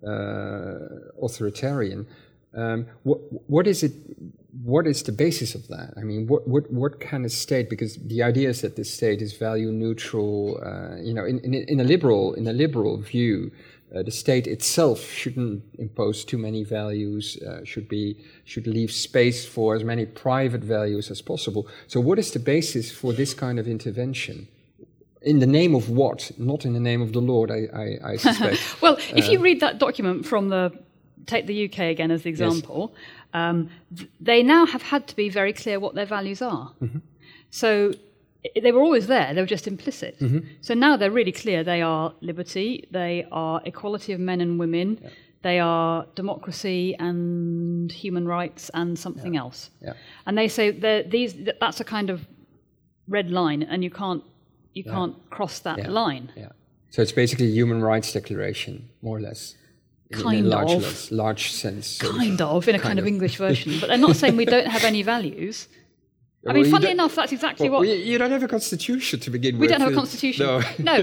authoritarian. What is it? What is the basis of that? I mean, what kind of state? Because the idea is that the state is value neutral. In a liberal view, the state itself shouldn't impose too many values. Should leave space for as many private values as possible. So, what is the basis for this kind of intervention? In the name of what? Not in the name of the Lord, I suspect. Well, if you read that document from take the UK again as the example, they now have had to be very clear what their values are. So they were always there, they were just implicit. So now they're really clear. They are liberty, they are equality of men and women, they are democracy and human rights and something else. And they say that's a kind of red line, and you can't cross that line. So it's basically a human rights declaration, more or less. In a large sense. In a kind of English version. But they're not saying we don't have any values. I mean, funnily enough, that's exactly what... You don't have a constitution to begin with. We don't have a constitution. No,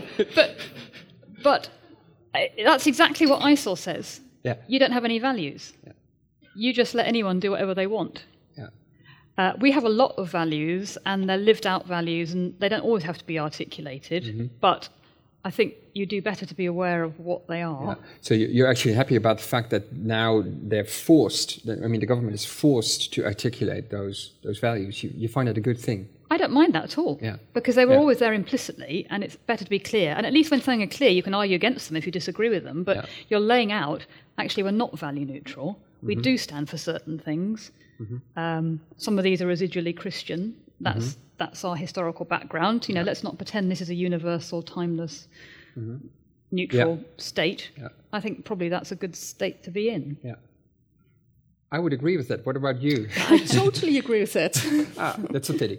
but that's exactly what ISIL says. You don't have any values. You just let anyone do whatever they want. We have a lot of values, and they're lived out values, and they don't always have to be articulated, but I think you do better to be aware of what they are. So you're actually happy about the fact that now they're forced, the government is forced to articulate those values. You find that a good thing? I don't mind that at all, because they were always there implicitly, and it's better to be clear. And at least when something is clear, you can argue against them if you disagree with them, but you're laying out, actually, we're not value neutral. We do stand for certain things. Some of these are residually Christian. That's our historical background. Let's not pretend this is a universal, timeless, neutral state. I think probably that's a good state to be in. I would agree with that. What about you? I totally agree with that. That's a pity.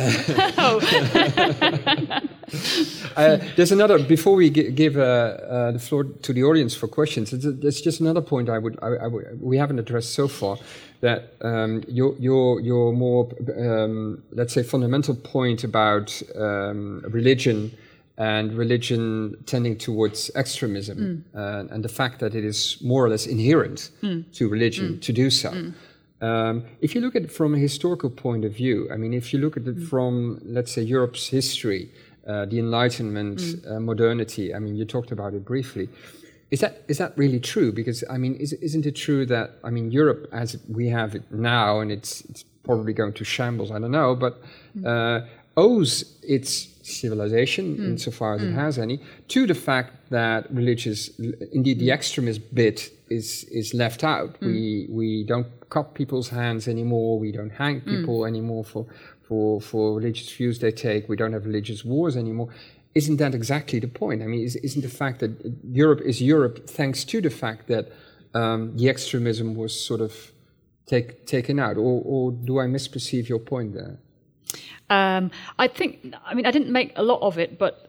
There's another. Before we give the floor to the audience for questions, there's just another point we haven't addressed so far. That your more let's say fundamental point about religion and religion tending towards extremism and the fact that it is more or less inherent to religion to do so. If you look at it from a historical point of view, I mean, if you look at it from, let's say, Europe's history, the Enlightenment, modernity, I mean, you talked about it briefly. Is that really true? Because, I mean, isn't it true that, I mean, Europe as we have it now, and it's probably going to shambles, I don't know, but owes its civilization, insofar as it has any, to the fact that indeed the extremist bit is left out. We don't cut people's hands anymore. We don't hang people anymore for religious views they take. We don't have religious wars anymore. Isn't that exactly the point? I mean, isn't the fact that Europe is Europe thanks to the fact that the extremism was sort of taken out? Or do I misperceive your point there? I didn't make a lot of it, but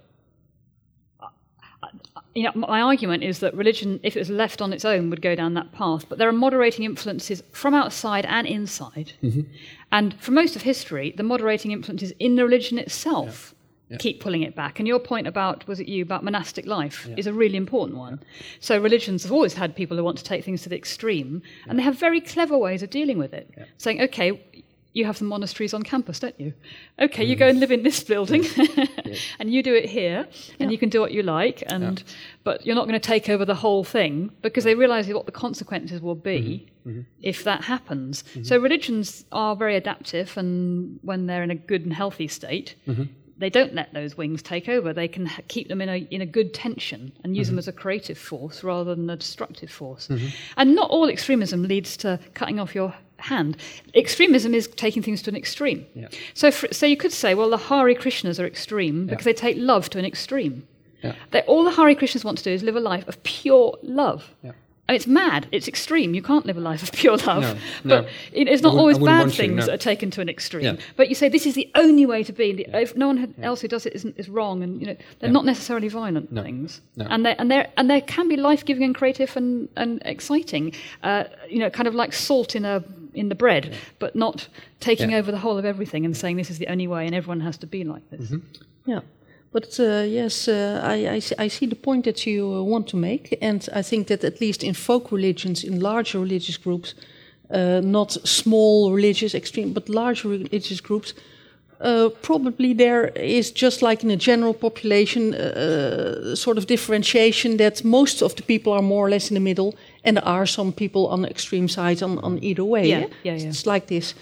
my argument is that religion, if it was left on its own, would go down that path. But there are moderating influences from outside and inside. And for most of history, the moderating influences in the religion itself keep pulling it back. And your point about monastic life is a really important one. So religions have always had people who want to take things to the extreme, and they have very clever ways of dealing with it. Saying, okay, you have some monasteries on campus, don't you? Okay, you go and live in this building, and you do it here, and you can do what you like, but you're not going to take over the whole thing, because they realise what the consequences will be if that happens. So religions are very adaptive, and when they're in a good and healthy state, they don't let those wings take over. They can keep them in a good tension and use them as a creative force rather than a destructive force. And not all extremism leads to cutting off your hand. Extremism is taking things to an extreme. So you could say, well, the Hare Krishnas are extreme because they take love to an extreme. All the Hare Krishnas want to do is live a life of pure love. And it's mad. It's extreme. You can't live a life of pure love. But it's not always bad things that are taken to an extreme. But you say this is the only way to be. If no one else who does it is wrong, and they're not necessarily violent things. And they can be life-giving and creative and exciting. Kind of like salt in the bread, but not taking over the whole of everything and saying this is the only way and everyone has to be like this. But yes, I see the point that you want to make, and I think that at least in folk religions, in larger religious groups, not small religious extreme, but larger religious groups, probably there is, just like in a general population, sort of differentiation that most of the people are more or less in the middle, and there are some people on the extreme sides on either way. It's like this.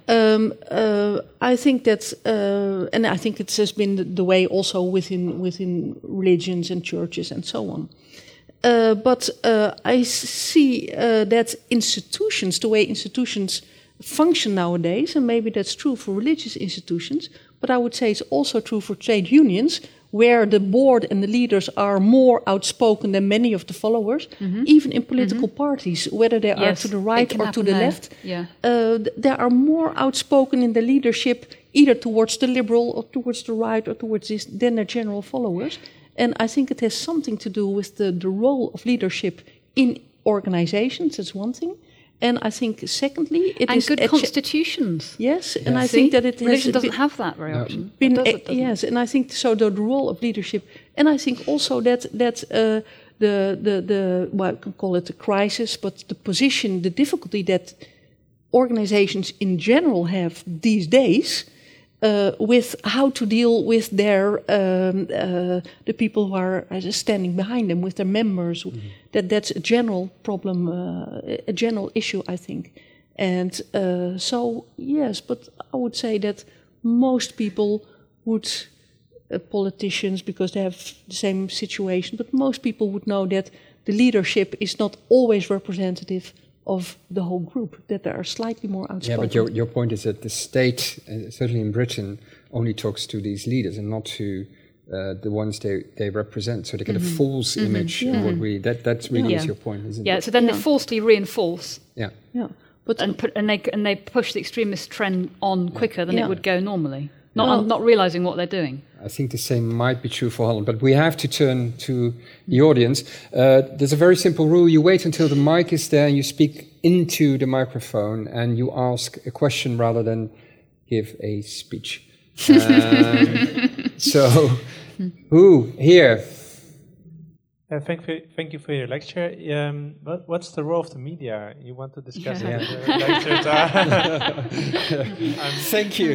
I think that, and I think it has been the way also within religions and churches and so on. But I see that institutions, the way institutions function nowadays, and maybe that's true for religious institutions, but I would say it's also true for trade unions, where the board and the leaders are more outspoken than many of the followers, even in political parties, whether they are to the right or to the left. They are more outspoken in the leadership, either towards the liberal or towards the right or towards this, than their general followers. And I think it has something to do with the role of leadership in organizations, that's one thing. And I think, secondly, it is... And good constitutions. Yes, and I think that it has... Religion doesn't have that very often. Yes, and I think so the role of leadership, and I think also that the well, I can call it a crisis, but the position, the difficulty that organizations in general have these days with how to deal with their the people who are standing behind them, with their members. That's a general problem, a general issue, I think. And so yes, but I would say that most people would, politicians, because they have the same situation, but most people would know that the leadership is not always representative of the whole group, that they are slightly more outspoken. Yeah, but your point is that the state, certainly in Britain, only talks to these leaders and not to the ones they represent. So they get a false image of what we... That's really is your point, isn't it? Yeah, so then they falsely reinforce. But and they push the extremist trend on quicker than it would go normally. Not realising what they're doing. I think the same might be true for Holland, but we have to turn to the audience. There's a very simple rule. You wait until the mic is there and you speak into the microphone and you ask a question rather than give a speech. So, who here? Thank you for your lecture. What's the role of the media? You want to discuss it in the lecture? Thank you.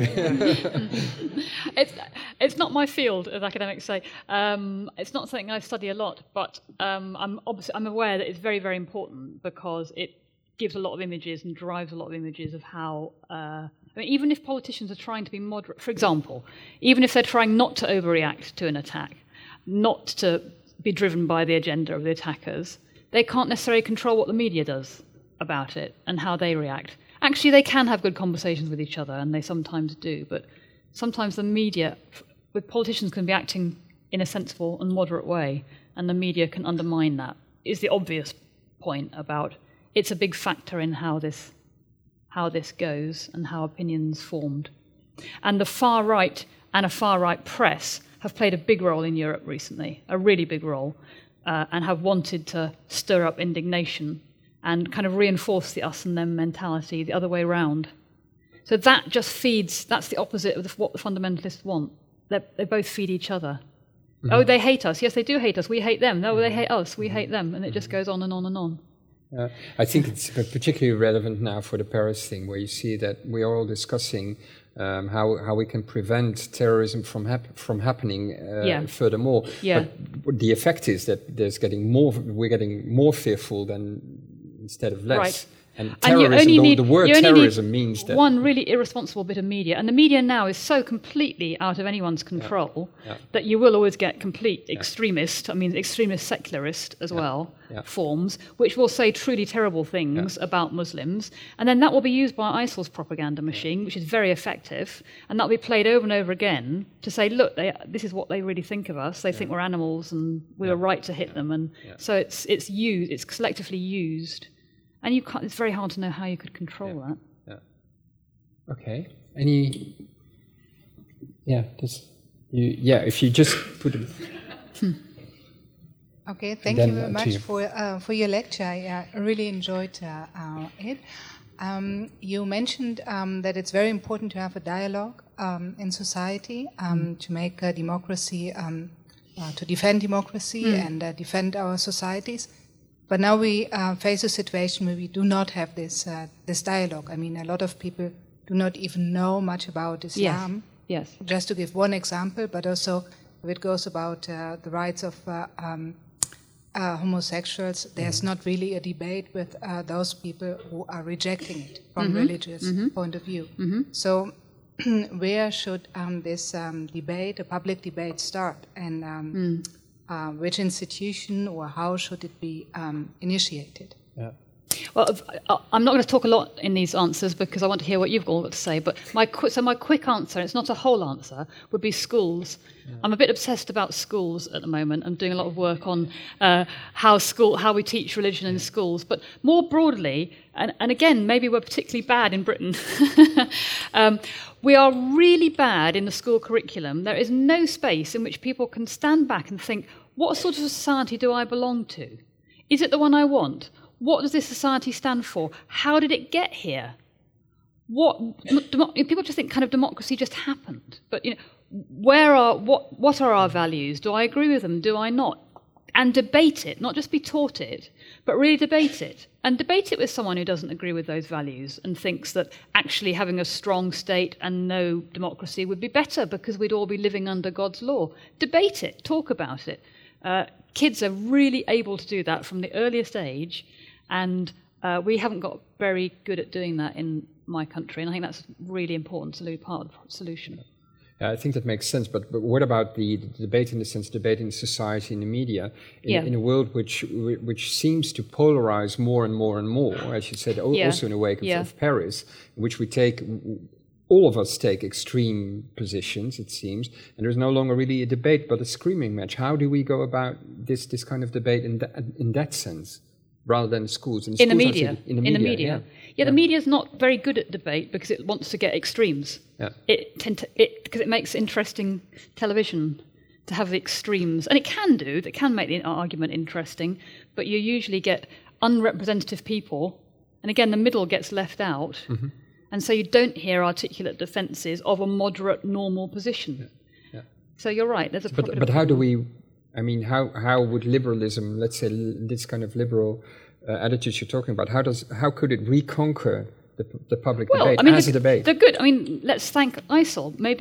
It's not my field, as academics say. It's not something I study a lot, but I'm aware that it's very, very important because gives a lot of images and drives a lot of images of how, even if politicians are trying to be moderate, for example, even if they're trying not to overreact to an attack, not to be driven by the agenda of the attackers, they can't necessarily control what the media does about it and how they react. Actually, they can have good conversations with each other, and they sometimes do, but sometimes the media, with politicians, can be acting in a sensible and moderate way, and the media can undermine that, is the obvious point about it's a big factor in how this goes and how opinions formed. And the far right and a far right press have played a big role in Europe recently, a really big role, and have wanted to stir up indignation and kind of reinforce the us and them mentality the other way around. So that just feeds, that's the opposite of what the fundamentalists want. They both feed each other. Mm-hmm. Oh, they hate us. Yes, they do hate us. We hate them. No, they hate us. We hate them. And it just goes on and on and on. I think it's particularly relevant now for the Paris thing, where you see that we are all discussing how we can prevent terrorism from happening furthermore. Yeah. But the effect is that we're getting more fearful than instead of less. Right. And terrorism, the word terrorism means that one really irresponsible bit of media, and the media now is so completely out of anyone's control that you will always get complete extremist secularist as well forms, which will say truly terrible things about Muslims, and then that will be used by ISIL's propaganda machine, which is very effective, and that will be played over and over again to say, look, this is what they really think of us. They think we're animals, and we were right to hit them, and so it's selectively used. And it's very hard to know how you could control that. Yeah. Okay. If you just put it. Okay, thank you very much for your lecture. I really enjoyed it. You mentioned that it's very important to have a dialogue in society to make democracy, to defend democracy and defend our societies. But now we face a situation where we do not have this dialogue. I mean, a lot of people do not even know much about Islam. Yes. Just to give one example, but also if it goes about the rights of homosexuals, there's not really a debate with those people who are rejecting it from religious point of view. Mm-hmm. So where should this debate, a public debate, start? And which institution or how should it be initiated? Yeah. Well, I'm not going to talk a lot in these answers because I want to hear what you've all got to say. But my quick answer, it's not a whole answer, would be schools. Yeah. I'm a bit obsessed about schools at the moment. I'm doing a lot of work on how we teach religion in schools. But more broadly, and again, maybe we're particularly bad in Britain. We are really bad in the school curriculum. There is no space in which people can stand back and think, what sort of society do I belong to? Is it the one I want? What does this society stand for? How did it get here? People just think kind of democracy just happened. But what are our values? Do I agree with them? Do I not? And debate it, not just be taught it, but really debate it. And debate it with someone who doesn't agree with those values and thinks that actually having a strong state and no democracy would be better because we'd all be living under God's law. Debate it, talk about it. Kids are really able to do that from the earliest age, and we haven't got very good at doing that in my country, and I think that's really important to be part of the solution. I think that makes sense, but what about the debate in the sense, debate in society, in the media, in a world which seems to polarize more and more and more, as you said, also in the wake of Paris, in which all of us take extreme positions, it seems, and there's no longer really a debate but a screaming match. How do we go about this kind of debate in that sense, rather than schools? In the media. Yeah, the media is not very good at debate because it wants to get extremes. Yeah. Because it makes interesting television to have the extremes. And it can make the argument interesting, but you usually get unrepresentative people, and again, the middle gets left out, and so you don't hear articulate defences of a moderate, normal position. Yeah. So you're right, there's a problem. But how do we, how would liberalism, let's say this kind of liberal attitudes you're talking about, how could it reconquer the public debate as a debate? They're good. Let's thank ISIL. Maybe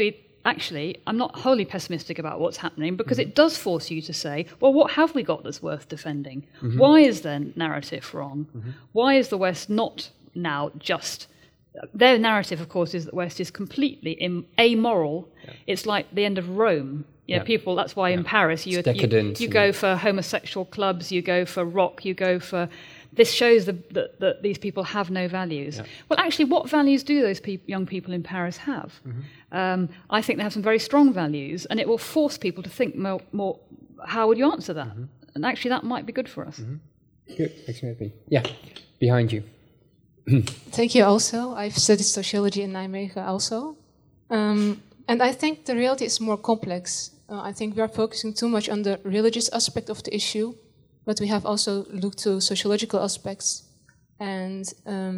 actually, I'm not wholly pessimistic about what's happening, because it does force you to say, well, what have we got that's worth defending? Why is their narrative wrong? Why is the West not now just... Their narrative, of course, is that the West is completely amoral. Yeah. It's like the end of Rome. People. That's why in Paris you go for homosexual clubs, you go for rock, you go for... This shows that these people have no values. Yeah. Well, actually, what values do those young people in Paris have? I think they have some very strong values, and it will force people to think more how would you answer that? And actually, that might be good for us. Good, exactly. Yeah, behind you. Thank you also. I've studied sociology in Nijmegen also. And I think the reality is more complex. I think we are focusing too much on the religious aspect of the issue, but we have also looked to sociological aspects. And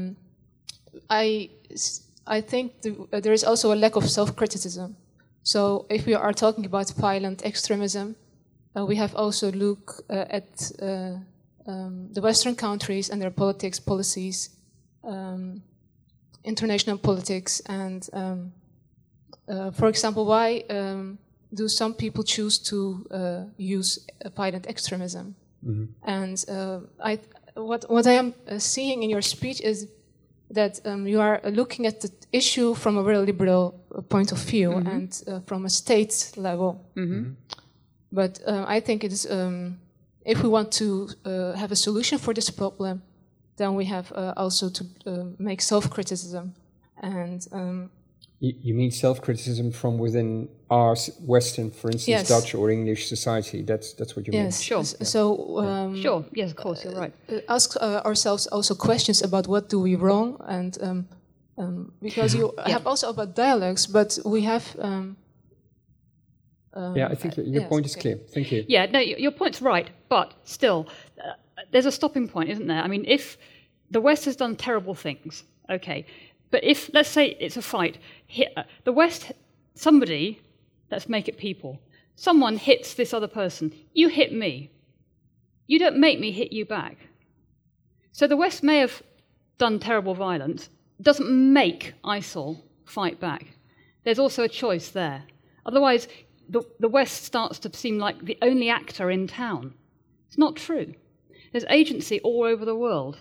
I think there is also a lack of self-criticism. So if we are talking about violent extremism, we have also looked at the Western countries and their politics, policies, international politics, and for example, why do some people choose to use violent extremism? And what I am seeing in your speech is that you are looking at the issue from a very liberal point of view and from a state level. But I think it is, if we want to have a solution for this problem, then we have also to make self-criticism. And you mean self-criticism from within our Western, for instance, yes. Dutch or English society? That's what you mean? Yes, sure. So sure. Yes, of course, you're right. Ask ourselves also questions about what do we wrong, and because you have also about dialogues, but we have. I think your point is clear. Thank you. Yeah, no, your point's right, but still, there's a stopping point, isn't there? I mean, if the West has done terrible things, okay, but if, let's say it's a fight, the West, somebody, let's make it people, someone hits this other person, you hit me. You don't make me hit you back. So the West may have done terrible violence, doesn't make ISIL fight back. There's also a choice there. Otherwise, the West starts to seem like the only actor in town. It's not true. There's agency all over the world.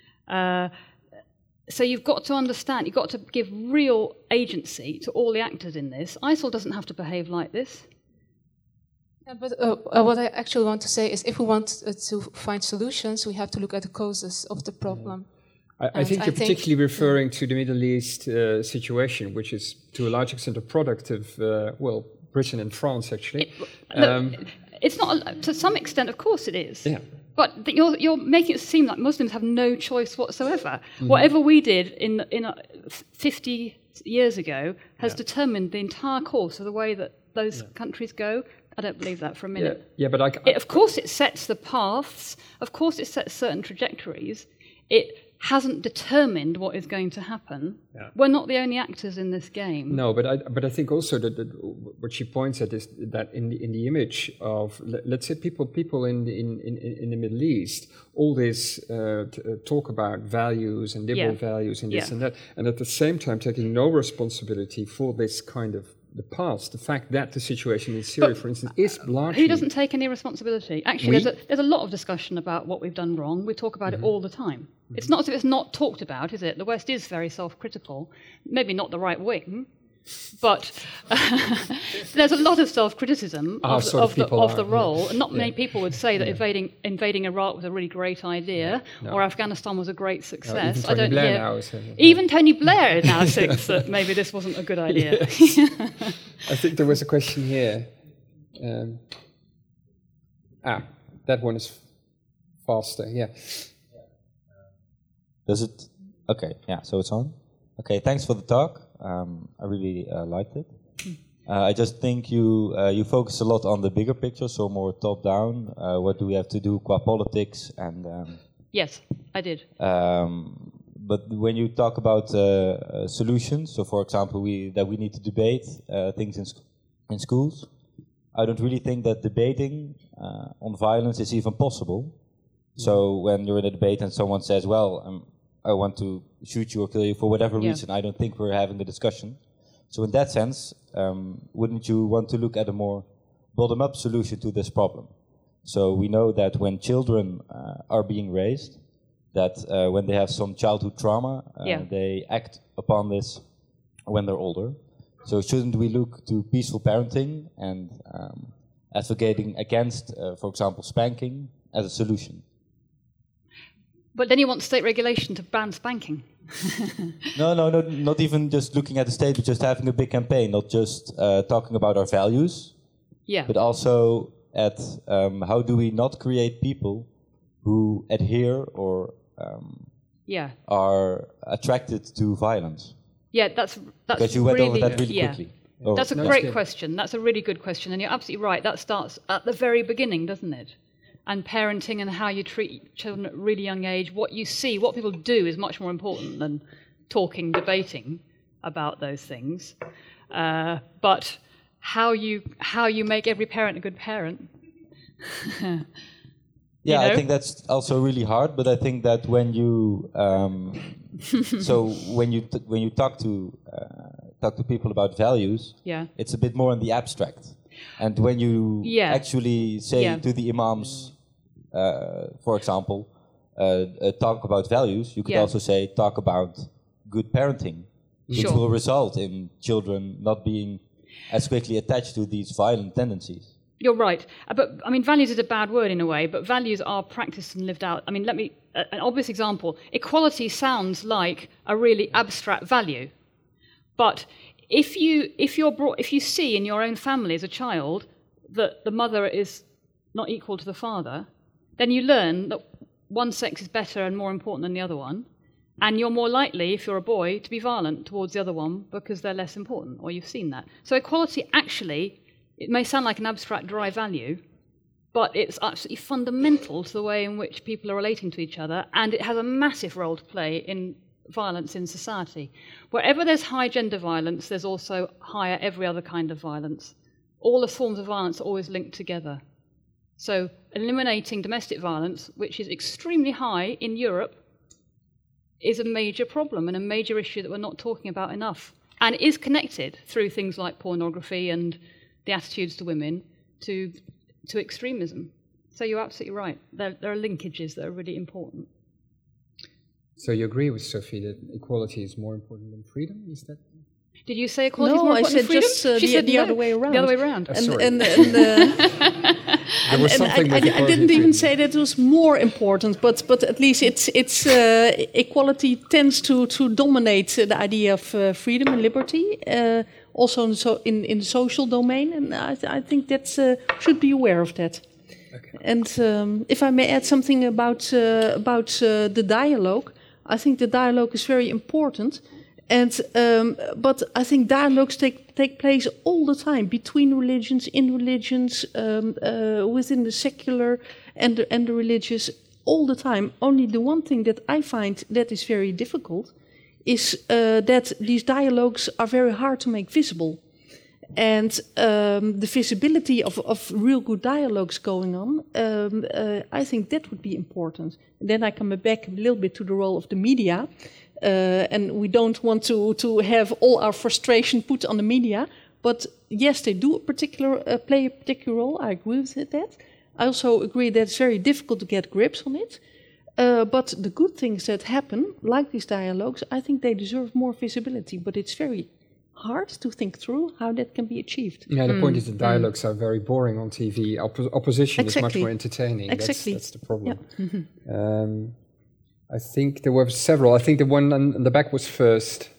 So you've got to understand, you've got to give real agency to all the actors in this. ISIL doesn't have to behave like this. Yeah, but what I actually want to say is if we want to find solutions, we have to look at the causes of the problem. I think you're particularly referring to the Middle East situation, which is to a large extent a product of, Britain and France, actually. It's not, to some extent, of course it is. Yeah. But you're making it seem like Muslims have no choice whatsoever. Whatever we did in 50 years ago has determined the entire course of the way that those countries go. I don't believe that for a minute. Yeah, but of course it sets the paths. Of course it sets certain trajectories. It hasn't determined what is going to happen. Yeah. We're not the only actors in this game. No, but I think also that what she points at is that in the image of, let's say, people in the Middle East, all this talk about values and liberal values and this and that, and at the same time taking no responsibility for this kind of the past, the fact that the situation in Syria, for instance, is largely... Who doesn't take any responsibility? Actually, there's a lot of discussion about what we've done wrong. We talk about it all the time. It's not as if it's not talked about, is it? The West is very self-critical. Maybe not the right wing, but there's a lot of self-criticism of the role. And not many people would say that invading Iraq was a really great idea, or Afghanistan was a great success. Even Tony Blair now even Tony Blair now thinks that maybe this wasn't a good idea. I think there was a question here. That one is faster. Yeah. Does it? Okay. Yeah. So it's on. Okay. Thanks for the talk. I really liked it. I just think you focus a lot on the bigger picture, so more top-down. What do we have to do qua politics and? Yes, I did. But when you talk about solutions, so for example, we need to debate things in schools. I don't really think that debating on violence is even possible. So when you're in a debate and someone says, "Well, I want to shoot you or kill you for whatever reason," I don't think we're having the discussion. So in that sense, wouldn't you want to look at a more bottom-up solution to this problem? So we know that when children are being raised, that when they have some childhood trauma, they act upon this when they're older. So shouldn't we look to peaceful parenting and advocating against, for example, spanking as a solution? But then you want state regulation to ban spanking. No, not even just looking at the state, but just having a big campaign, not just talking about our values, but also at how do we not create people who adhere or are attracted to violence. Yeah, that's because you went over that really quickly. That's a great question. That's a really good question, and you're absolutely right. That starts at the very beginning, doesn't it? And parenting and how you treat children at a really young age, what you see, what people do is much more important than talking, debating about those things. But how you make every parent a good parent. I think that's also really hard. But I think that when you when you talk to people about values, it's a bit more in the abstract. And when you actually say to the imams, for example, talk about values, you could also say talk about good parenting, which will result in children not being as quickly attached to these violent tendencies. You're right. But, I mean, values is a bad word in a way, but values are practiced and lived out. I mean, an obvious example. Equality sounds like a really abstract value. But if you see in your own family as a child that the mother is not equal to the father, then you learn that one sex is better and more important than the other one, and you're more likely, if you're a boy, to be violent towards the other one because they're less important, or you've seen that. So equality actually, it may sound like an abstract dry value, but it's absolutely fundamental to the way in which people are relating to each other, and it has a massive role to play in violence in society. Wherever there's high gender violence, there's also higher every other kind of violence. All the forms of violence are always linked together. So eliminating domestic violence, which is extremely high in Europe, is a major problem and a major issue that we're not talking about enough, and is connected through things like pornography and the attitudes to women to extremism. So you're absolutely right. There are linkages that are really important. So you agree with Sophie that equality is more important than freedom? Is that? Did you say equality is more important than freedom? No, I said just the other way around. The other way around. I didn't even say that it was more important, but at least it's equality tends to dominate the idea of freedom and liberty, also in the social domain, and I think that should be aware of that. Okay. And if I may add something about the dialogue, I think the dialogue is very important. And but I think dialogues take place all the time between religions, in religions, within the secular and the religious, all the time. Only the one thing that I find that is very difficult is that these dialogues are very hard to make visible. And the visibility of real good dialogues going on, I think that would be important. And then I come back a little bit to the role of the media. And we don't want to have all our frustration put on the media, but yes, they do play a particular role. I agree with that. I also agree that it's very difficult to get grips on it. But the good things that happen, like these dialogues, I think they deserve more visibility. But it's very hard to think through how that can be achieved. Yeah, the point is the dialogues are very boring on TV. Opposition is much more entertaining. Exactly. That's the problem. Yeah. Mm-hmm. I think there were several. I think the one on the back was first.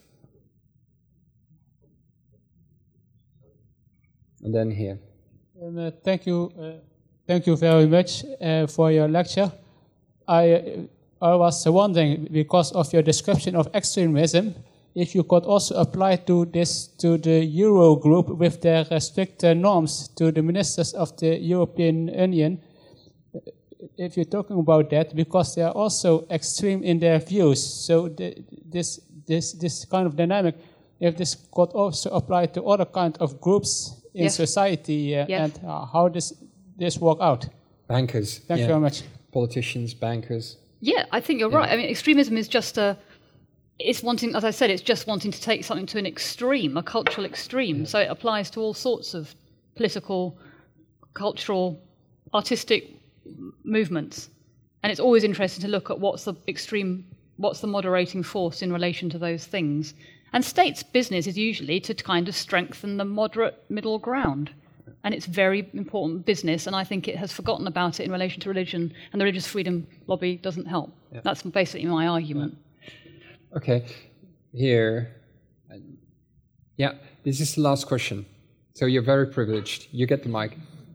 And then here. Thank you very much for your lecture. I was wondering, because of your description of extremism, if you could also apply to the Euro group with their strict norms to the ministers of the European Union. If you're talking about that, because they are also extreme in their views, so this kind of dynamic, if this could also apply to other kind of groups in society, and how does this work out? Bankers. Thank you very much. Politicians, bankers. Yeah, I think you're right. I mean, extremism is just it's wanting, as I said, it's just wanting to take something to an extreme, a cultural extreme. So it applies to all sorts of political, cultural, artistic movements. And it's always interesting to look at what's the moderating force in relation to those things. And states' business is usually to kind of strengthen the moderate middle ground. And it's very important business, and I think it has forgotten about it in relation to religion, and the religious freedom lobby doesn't help. Yeah. That's basically my argument. Okay, here. Yeah, this is the last question. So you're very privileged. You get the mic.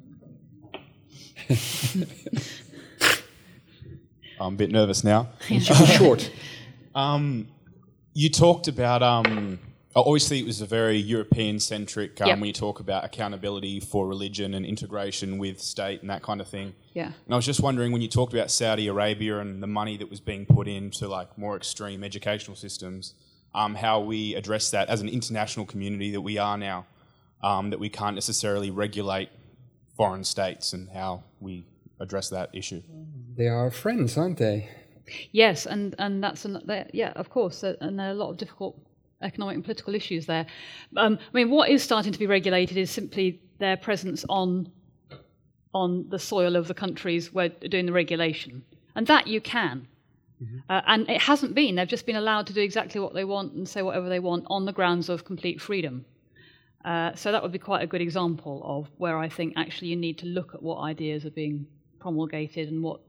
I'm a bit nervous now. It should be short. You talked about, obviously it was a very European-centric, when you talk about accountability for religion and integration with state and that kind of thing. Yeah. And I was just wondering, when you talked about Saudi Arabia and the money that was being put into like more extreme educational systems, how we address that as an international community that we are now, that we can't necessarily regulate foreign states, and how we address that issue. They are friends, aren't they? Yes, and that's of course, and there are a lot of difficult economic and political issues there. I mean, what is starting to be regulated is simply their presence on the soil of the countries where they're doing the regulation, and that you can. Mm-hmm. And it hasn't been. They've just been allowed to do exactly what they want and say whatever they want on the grounds of complete freedom. So that would be quite a good example of where I think actually you need to look at what ideas are being promulgated and what,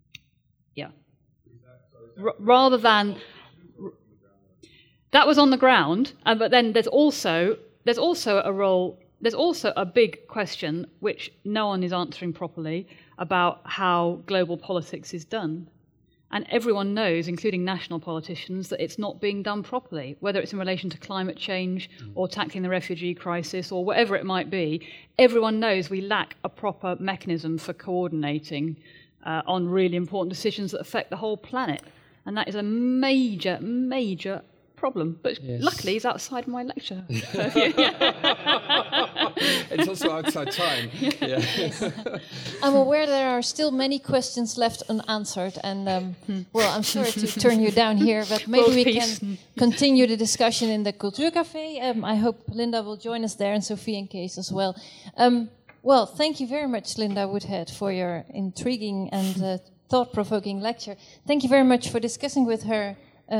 rather than that was on the ground. But then there's also a role. There's also a big question which no one is answering properly about how global politics is done. And everyone knows, including national politicians, that it's not being done properly, whether it's in relation to climate change or tackling the refugee crisis or whatever it might be. Everyone knows we lack a proper mechanism for coordinating on really important decisions that affect the whole planet. And that is a major, major problem. But luckily, it's outside my lecture. It's also outside time. Yeah. I'm aware there are still many questions left unanswered, and I'm sorry to turn you down here, but maybe we can continue the discussion in the Cultuurcafé. I hope Linda will join us there, and Sophie and Kees as well. Thank you very much, Linda Woodhead, for your intriguing and thought-provoking lecture. Thank you very much for discussing with her.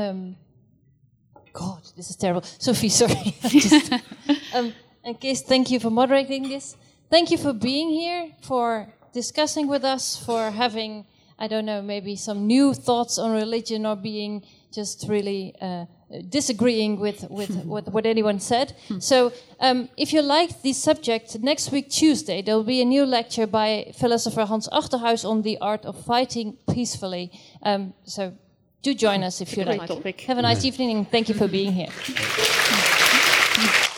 God, this is terrible. Sophie, sorry. And Kees, thank you for moderating this. Thank you for being here, for discussing with us, for having, I don't know, maybe some new thoughts on religion, or being just really disagreeing with what anyone said. So if you like this subject, next week, Tuesday, there will be a new lecture by philosopher Hans Achterhuis on the art of fighting peacefully. So do join us if you like. Topic. Have a nice evening, and thank you for being here.